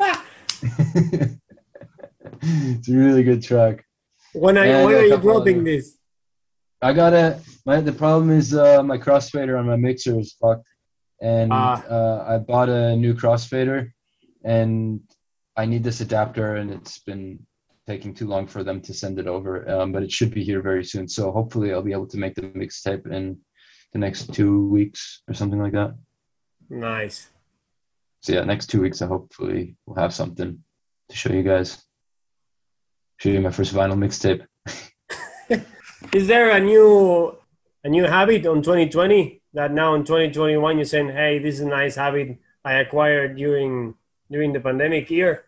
It's a really good track. When I Yeah, I when got are a you couple dropping other. this? I gotta. My the problem is uh, my crossfader on my mixer is fucked, and Ah, uh, I bought a new crossfader, and I need this adapter, and it's been taking too long for them to send it over. Um, but it should be here very soon. So hopefully I'll be able to make the mixtape in the next two weeks or something like that. nice. So yeah, next two weeks I hopefully will have something to show you guys. Show you my first vinyl mixtape. Is there a new a new habit on twenty twenty that now in twenty twenty-one you're saying, hey, this is a nice habit I acquired during during the pandemic year?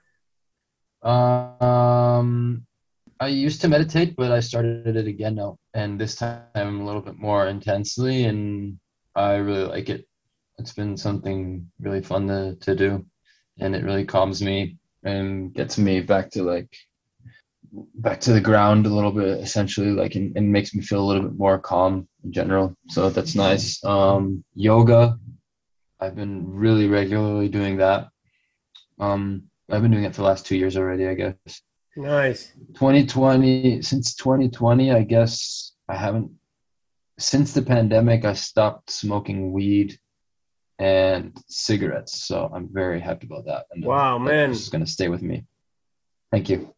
Um, I used to meditate, but I started it again now, and this time a little bit more intensely, and I really like it. It's been something really fun to, to do, and it really calms me and gets me back to like back to the ground a little bit, essentially, like and, and makes me feel a little bit more calm in general. So that's nice. Um, yoga, I've been really regularly doing that. Um, I've been doing it for the last two years already, I guess. Nice. twenty twenty, since twenty twenty, I guess I haven't, since the pandemic, I stopped smoking weed and cigarettes. So I'm very happy about that. And uh, Wow, man. that's going to stay with me. Thank you.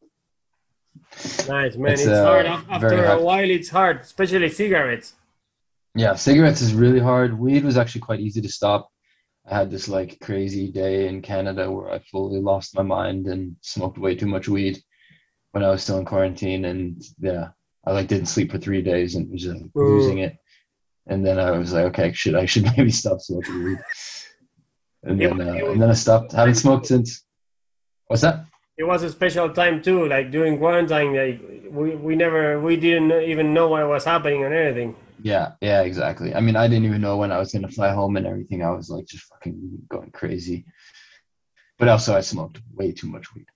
Nice, man. It's It's hard. uh, Af- very After a happy. while, it's hard, especially cigarettes. Yeah, cigarettes is really hard. Weed was actually quite easy to stop. I had this like crazy day in Canada where I fully lost my mind and smoked way too much weed when I was still in quarantine. And yeah, I like didn't sleep for three days and was just losing Ooh. it. And then I was like, okay, should I should maybe stop smoking weed. And It then was, it uh, was and then I stopped. Haven't smoked since. What's that? it was a special time too, like during quarantine, like we, we never we didn't even know what was happening and anything. Yeah, yeah, exactly. I mean, I didn't even know when I was gonna fly home and everything. I was like just fucking going crazy. But also, I smoked way too much weed.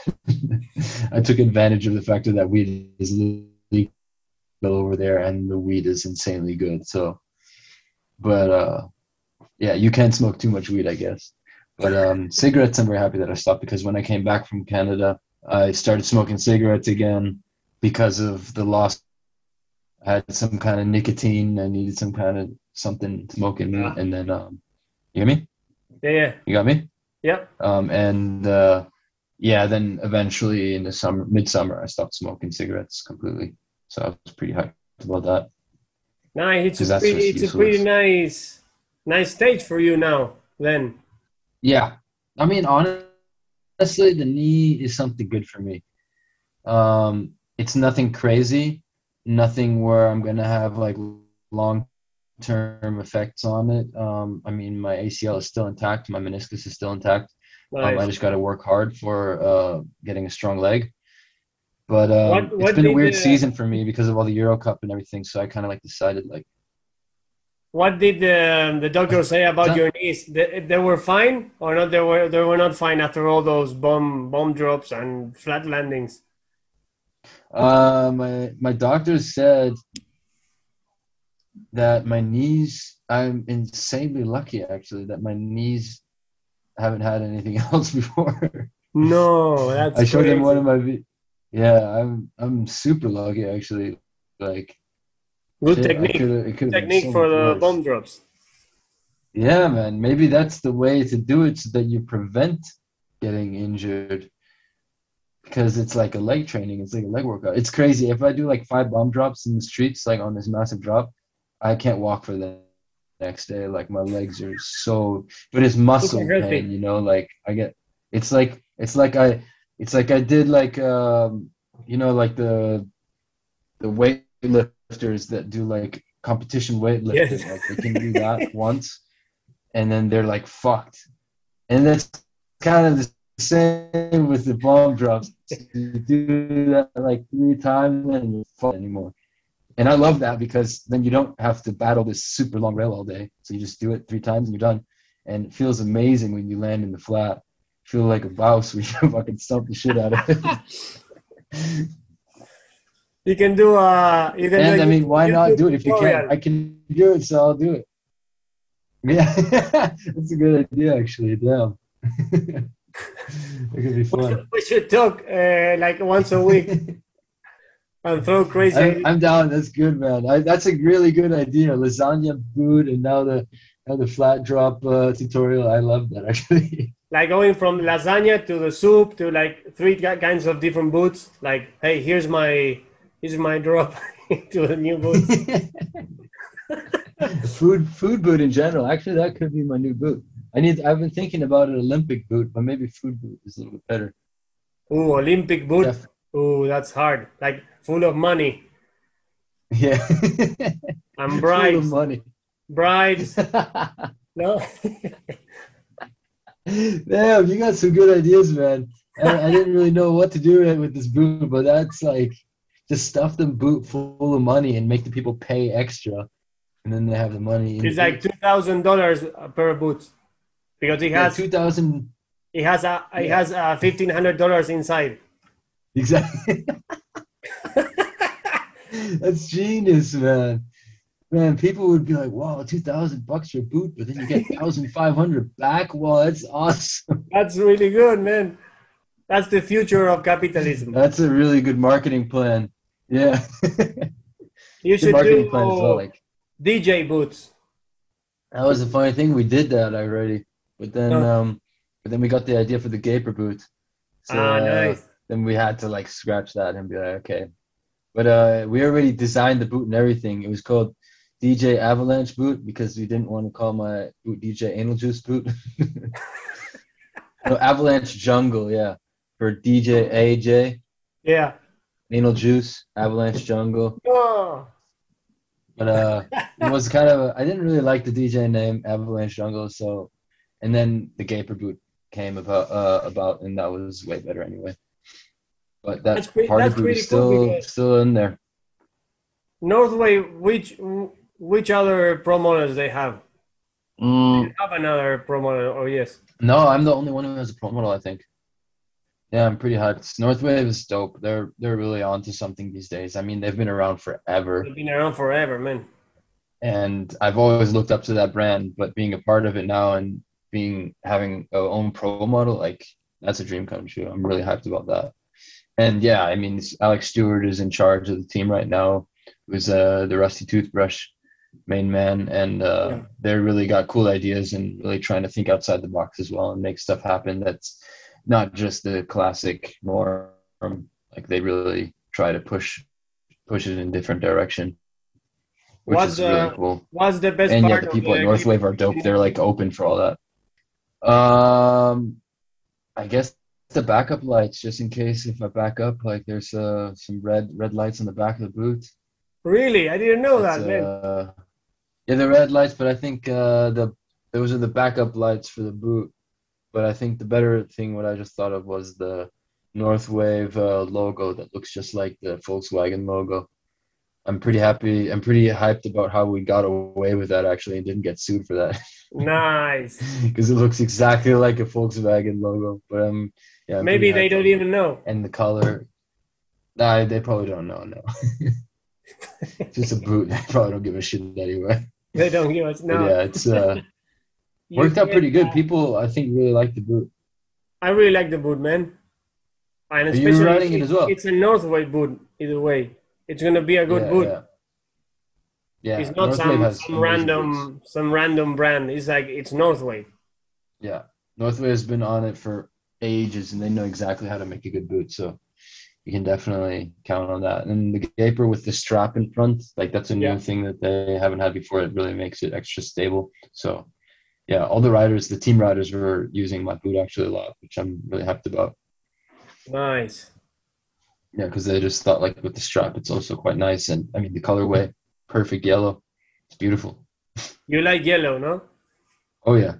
I took advantage of the fact that weed is legal over there, and the weed is insanely good. So, but uh, yeah, you can smoke too much weed, I guess. But um, cigarettes, I'm very happy that I stopped because when I came back from Canada, I started smoking cigarettes again because of the loss. I had some kind of nicotine. I needed some kind of something to smoke in me, Yeah. and then um, you hear me? Yeah, yeah. You got me? Yep. Um, and uh, yeah, then eventually in the summer, midsummer, I stopped smoking cigarettes completely. So I was pretty hyped about that Nice. It's a because that's pretty just it's a pretty useless. nice nice stage for you now then. Yeah, I mean, honestly, the knee is something good for me. Um, it's nothing crazy, nothing where I'm gonna have like long term effects on it. Um, I mean, my A C L is still intact, my meniscus is still intact. Um, I Nice. just got to work hard for uh, getting a strong leg. But um, What it's what been a did weird the season for me because of all the Euro Cup and everything. So I kind of like decided like, what did the the doctor say what's about that? your knees? They, they were fine or not? They were they were not fine after all those bomb bomb drops and flat landings. Uh, my my doctor said that my knees. I'm insanely lucky actually that my knees haven't had anything else before. No, I that's showed him one crazy. of my. vi- Yeah, I'm I'm super lucky actually. Like Good Shit, I technique. could it could have been Technique so for much the worse. bomb drops. Yeah, man. Maybe that's the way to do it so that you prevent getting injured because it's like a leg training. It's like a leg workout. It's crazy. If I do like five bomb drops in the streets, like on this massive drop, I can't walk for the next day. Like my legs are so, but it's Super muscle pain, healthy. you know, like I get, it's like, it's like I, it's like I did like, um, you know, like the, the weightlifters that do like competition Yes. weightlifting, like they can do that once and then they're like fucked. And that's kind of the same with the bomb drops. You do that like three times and you're fucked anymore. And I love that because then you don't have to battle this super long rail all day. So you just do it three times and you're done. And it feels amazing when you land in the flat. You feel like a boss when you fucking stomp the shit out of it. You can do a you can do a And I mean, YouTube, why not YouTube do it if you can? tutorial. I can do it, so I'll do it. Yeah, that's a good idea, actually. Damn. It could be We fun. should, we should talk uh, like once a week and throw crazy I'm ideas. I'm down. That's good, man. I, that's a really good idea. Lasagna boot, and now the now the flat drop uh, tutorial. I love that actually. Like going from lasagna to the soup to like three ki- kinds of different boots. Like, hey, here's my here's my drop to the new boots. food food boot in general. Actually, that could be my new boot. I need. I've been thinking about an Olympic boot, but maybe food boot is a little bit better. Ooh, Olympic boot. Def- Ooh, that's hard. Like full of money yeah, and full of bribes. money. Bribes. No. Damn, you got some good ideas, man. I, I didn't really know what to do with this boot, but that's like just stuff the boot full of money and make the people pay extra, and then they have the money. In It's the like boot. two thousand dollars per boot because it Yeah, has two thousand. it has a it Yeah, has a fifteen hundred dollars inside. exactly. That's genius, man. Man, people would be like, "Wow, two thousand bucks for a boot," but then you get thousand five hundred back. Wow, that's awesome. That's really good, man. That's the future of capitalism. That's a really good marketing plan. Yeah, You good should marketing plan as well. do Like. D J boots. That was a funny thing. We did that already, but then No. um, but then we got the idea for the Gaper boot. So Ah, uh, nice. then we had to like scratch that and be like, okay. But uh, we already designed the boot and everything. It was called D J Avalanche boot because we didn't want to call my boot D J Anal Juice boot. No, Avalanche Jungle, yeah, for D J A J Yeah. Anal Juice Avalanche Jungle. Oh. But uh, it was kind of I didn't really like the D J name Avalanche Jungle, so and then the Gaper boot came about uh, about, and that was way better anyway. But that That's pretty, party that's boot pretty is cool still because still in there. Northway, which which other pro models they have? Mm, Have another pro model, or yes? no, I'm the only one who has a pro model, I think. Yeah, I'm pretty hyped. Northwave is dope. They're they're really onto something these days. I mean, they've been around forever, They've been around forever, man. and I've always looked up to that brand. But being a part of it now and being having our own pro model, like that's a dream come true. I'm really hyped about that. And yeah, I mean, Alex Stewart is in charge of the team right now. Who's uh, the Rusty Toothbrush main man, and uh, Yeah. they really got cool ideas and really trying to think outside the box as well and make stuff happen that's not just the classic norm. Like they really try to push push it in a different direction, which What's is really the cool. what's the best And yeah, part the of people at the Northwave are dope. They're like open for all that. Um, I guess the backup lights, just in case if I back up, like there's uh, some red red lights on the back of the boot. Really? I didn't know That's that, man. uh, yeah, the red lights, but I think uh, the those are the backup lights for the boot. But I think the better thing, what I just thought of, was the Northwave uh, logo that looks just like the Volkswagen logo. I'm pretty happy. I'm pretty hyped about how we got away with that actually and didn't get sued for that Nice. because it looks exactly like a Volkswagen logo. But um, yeah, I'm Maybe pretty they hyped don't on- even know. and the color. Nah, they probably don't know. No, just a boot. They probably don't give a shit anyway. They don't give us But no. yeah, it's uh, You worked out get, pretty good. uh, People, I think, really like the boot. I really like the boot, man. And Are you especially riding it it's, as well? it's a Northway boot either way. It's gonna be a good Yeah, boot. yeah. Yeah, It's not Northwave some has some amazing boots. random some random brand. It's like it's Northway. Yeah, Northwave has been on it for ages, and they know exactly how to make a good boot. So you can definitely count on that. And the Gaper with the strap in front, like that's a Yeah. new thing that they haven't had before. It really makes it extra stable. So yeah, all the riders, the team riders were using my boot actually a lot, which I'm really happy about. Nice. Yeah, because they just thought like with the strap, it's also quite nice. And I mean, the colorway, perfect yellow. It's beautiful. You like yellow, no? Oh yeah.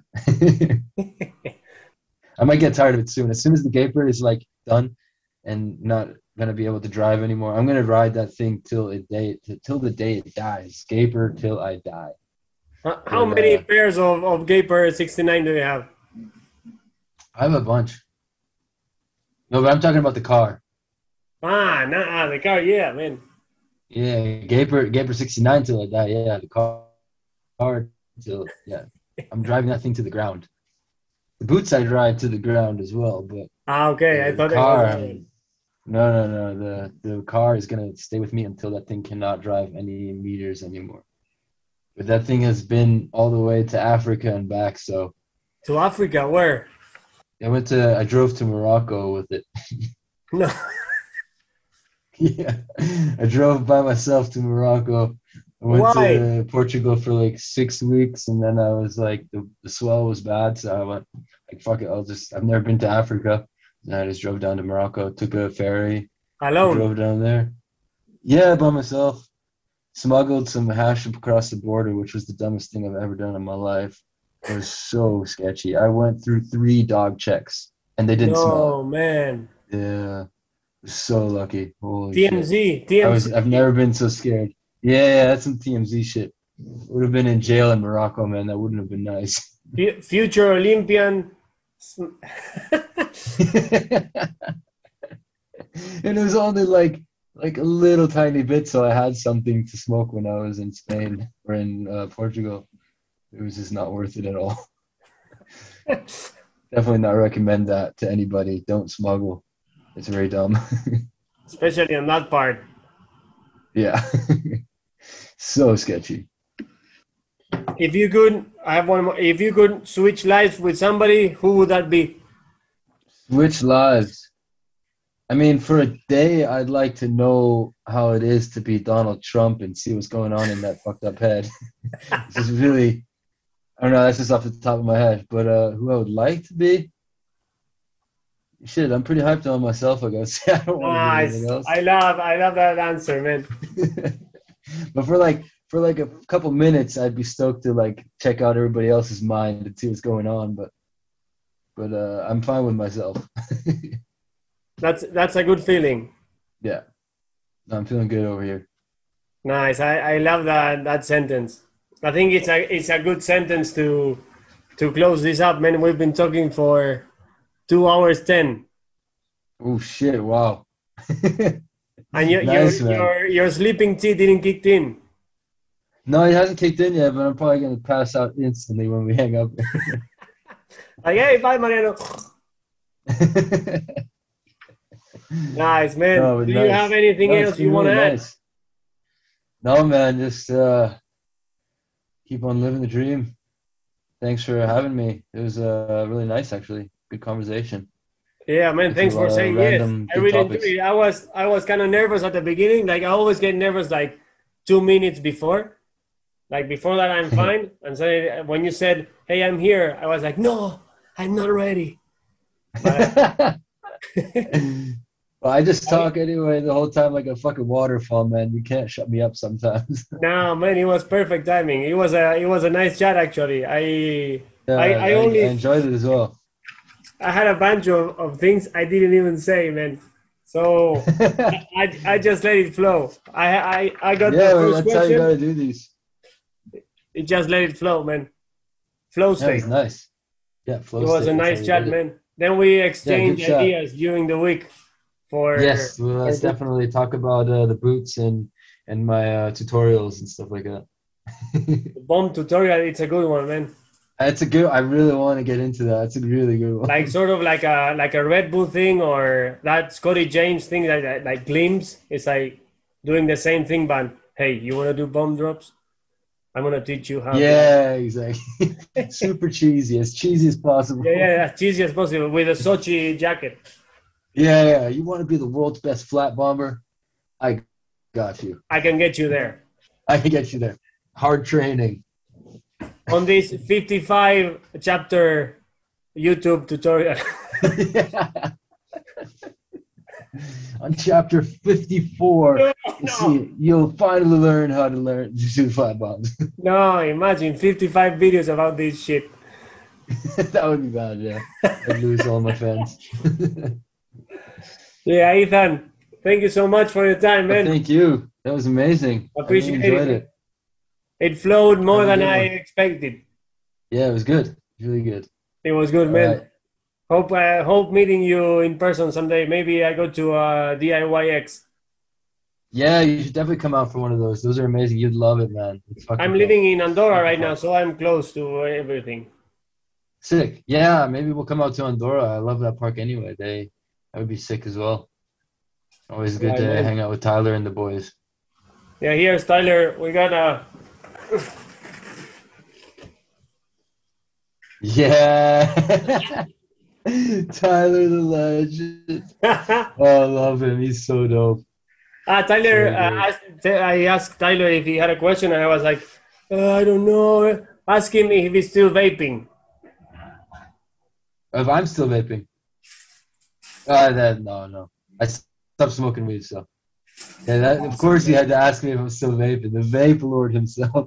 I might get tired of it soon. As soon as the Gaper is like done and not gonna be able to drive anymore, I'm gonna ride that thing till it day till the day it dies. Gaper till I die. How how But many uh, pairs of, of Gaper sixty-nine do you have? I have a bunch. No, but I'm talking about the car. Ah, nah, the car, yeah, man. Yeah, Gaper Gaper sixty-nine till I die. Yeah, the car, car till yeah. I'm driving that thing to the ground. The boots I drive to the ground as well, but Ah, okay. I the thought it was car, that one. um, no, no, no. The the car is gonna stay with me until that thing cannot drive any meters anymore. But that thing has been all the way to Africa and back. So To Africa, where? I went to, I drove to Morocco with it. No. Yeah, I drove by myself to Morocco. I went Why? to Portugal for like six weeks, and then I was like, the, the swell was bad, so I went like, fuck it, I'll just. I've never been to Africa, and I just drove down to Morocco, took a ferry, Alone. drove down there. Yeah, by myself. Smuggled some hash across the border, which was the dumbest thing I've ever done in my life. It was so sketchy. I went through three dog checks, and they didn't smell it. No, man. Yeah, so lucky. Holy shit. T M Z. I was I've T M Z. never been so scared. Yeah, yeah, that's some T M Z shit. Would have been in jail in Morocco, man. That wouldn't have been nice. Fu- Future Olympian. And it was only like like a little tiny bit, so I had something to smoke when I was in Spain or in uh, Portugal. It was just not worth it at all. Definitely not recommend that to anybody. Don't smuggle. It's very dumb. Especially on that part. Yeah. So sketchy. If you could, I have one more. If you could switch lives with somebody, who would that be? Switch lives. I mean, for a day, I'd like to know how it is to be Donald Trump and see what's going on in that fucked up head. This is really, I don't know, that's just off the top of my head. But uh, who I would like to be? Shit, I'm pretty hyped on myself, I gotta say. I don't want to be anything Nice. else. I love, I love that answer, man. But for like for like a couple minutes, I'd be stoked to like check out everybody else's mind and see what's going on. But but uh, I'm fine with myself. That's that's a good feeling. Yeah, no, I'm feeling good over here. Nice. I, I love that that sentence. I think it's a it's a good sentence to to close this up, man. We've been talking for two hours ten, Oh shit! Wow. and your Nice, your man. your your sleeping tea didn't kick in. No, it hasn't kicked in yet, but I'm probably gonna pass out instantly when we hang up. Like, hey, bye, Mariano. Nice, man. No, but Do you nice. have anything No, it's else you been want to really add? nice. No, man, just uh, keep on living the dream. Thanks for having me. It was uh, really nice, actually. Good conversation. Yeah, man. Went through Thanks a for lot of saying yes. random I good really enjoyed topics. it. I was I was kind of nervous at the beginning. Like I always get nervous like two minutes before. Like before that, I'm fine. And so when you said, "Hey, I'm here," I was like, "No, I'm not ready." But Well, I just talk anyway the whole time like a fucking waterfall, man. You can't shut me up sometimes. no, man, it was perfect timing. It was a it was a nice chat actually. I Yeah, I, I, I I only enjoyed it as well. I had a bunch of, of things I didn't even say, man. So I I just let it flow. I I, I got Yeah, the man, first that's how you question. gotta do these. It just let it flow, man. Flow That was state. nice. Yeah, flow It was state. a That's how nice you chat, did it. man. Then we Yeah, good exchanged chat. ideas during the week for, Yes, well, for let's definitely talk about uh, the boots and and my uh, tutorials and stuff like that. the bomb tutorial. It's a good one, man. That's a good. I really want to get into that. That's a really good one. Like sort of like a like a Red Bull thing or that Scotty James thing that like, like Glimpse. It's like doing the same thing, but hey, you want to do bomb drops? I'm gonna teach you how. Yeah, to... exactly. Super cheesy, as cheesy as possible. Yeah, yeah, as cheesy as possible with a Sochi jacket. Yeah, yeah. You want to be the world's best flat bomber? I got you. I can get you there. I can get you there. Hard training. On this fifty-five chapter YouTube tutorial. Yeah. On chapter fifty-four, no, you no. see, you'll finally learn how to learn to do flat bombs. No, imagine fifty-five videos about this shit. That would be bad, yeah. I'd lose all my fans. Yeah, Ethan, thank you so much for your time, man. Well, thank you. That was amazing. Appreciate I really enjoyed it. it. It flowed more than I one. expected. Yeah, it was good. Really good. It was good, All man. right. Hope I hope meeting you in person someday. Maybe I go to uh, D I Y X. Yeah, you should definitely come out for one of those. Those are amazing. You'd love it, man. It's fucking I'm cool. living in Andorra right now, so I'm close to everything. Sick. Yeah, maybe we'll come out to Andorra. I love that park anyway. They that would be sick as well. Always good Right, to man. hang out with Tyler and the boys. Yeah, here's Tyler. We got a. Yeah. Tyler the legend. ah, Oh, I love him. He's so dope. Tyler. So Uh, good. asked, I asked Tyler if he had a question, and I was like, uh, I don't know. Ask him if he's still vaping. If I'm still vaping. Uh, that, no, no. I stopped smoking weed, so. Yeah, that, of course he had to ask me if I'm still vaping. The vape lord himself.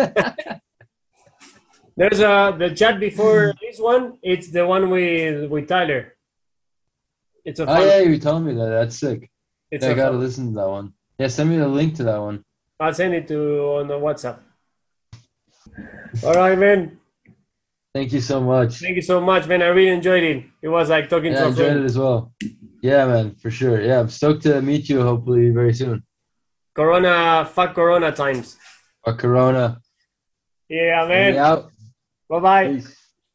There's a the chat before this one. It's the one with with Tyler. It's a Oh, fun. yeah, you were telling me that. That's sick. It's Yeah, I a gotta fun. listen to that one. Yeah, send me the link to that one. I'll send it to on the WhatsApp. All right, man. Thank you so much. Thank you so much, man. I really enjoyed it. It was like talking Yeah, I to a enjoyed friend. it as well. Yeah, man, for sure. Yeah, I'm stoked to meet you hopefully very soon. Corona, fuck Corona times. Or Corona. Yeah, Let me man. out. Bye bye. Peace.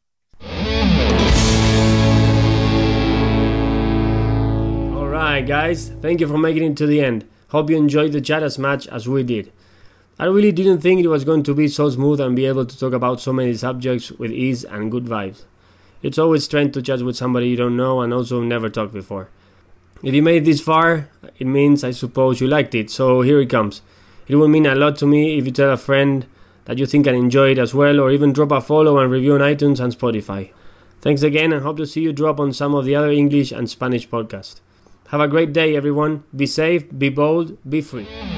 Alright, guys. Thank you for making it to the end. Hope you enjoyed the chat as much as we did. I really didn't think it was going to be so smooth and be able to talk about so many subjects with ease and good vibes. It's always strange to chat with somebody you don't know and also never talked before. If you made it this far, it means I suppose you liked it, so here it comes. It will mean a lot to me if you tell a friend that you think can enjoy it as well, or even drop a follow and review on iTunes and Spotify. Thanks again, and hope to see you drop on some of the other English and Spanish podcasts. Have a great day, everyone. Be safe, be bold, be free.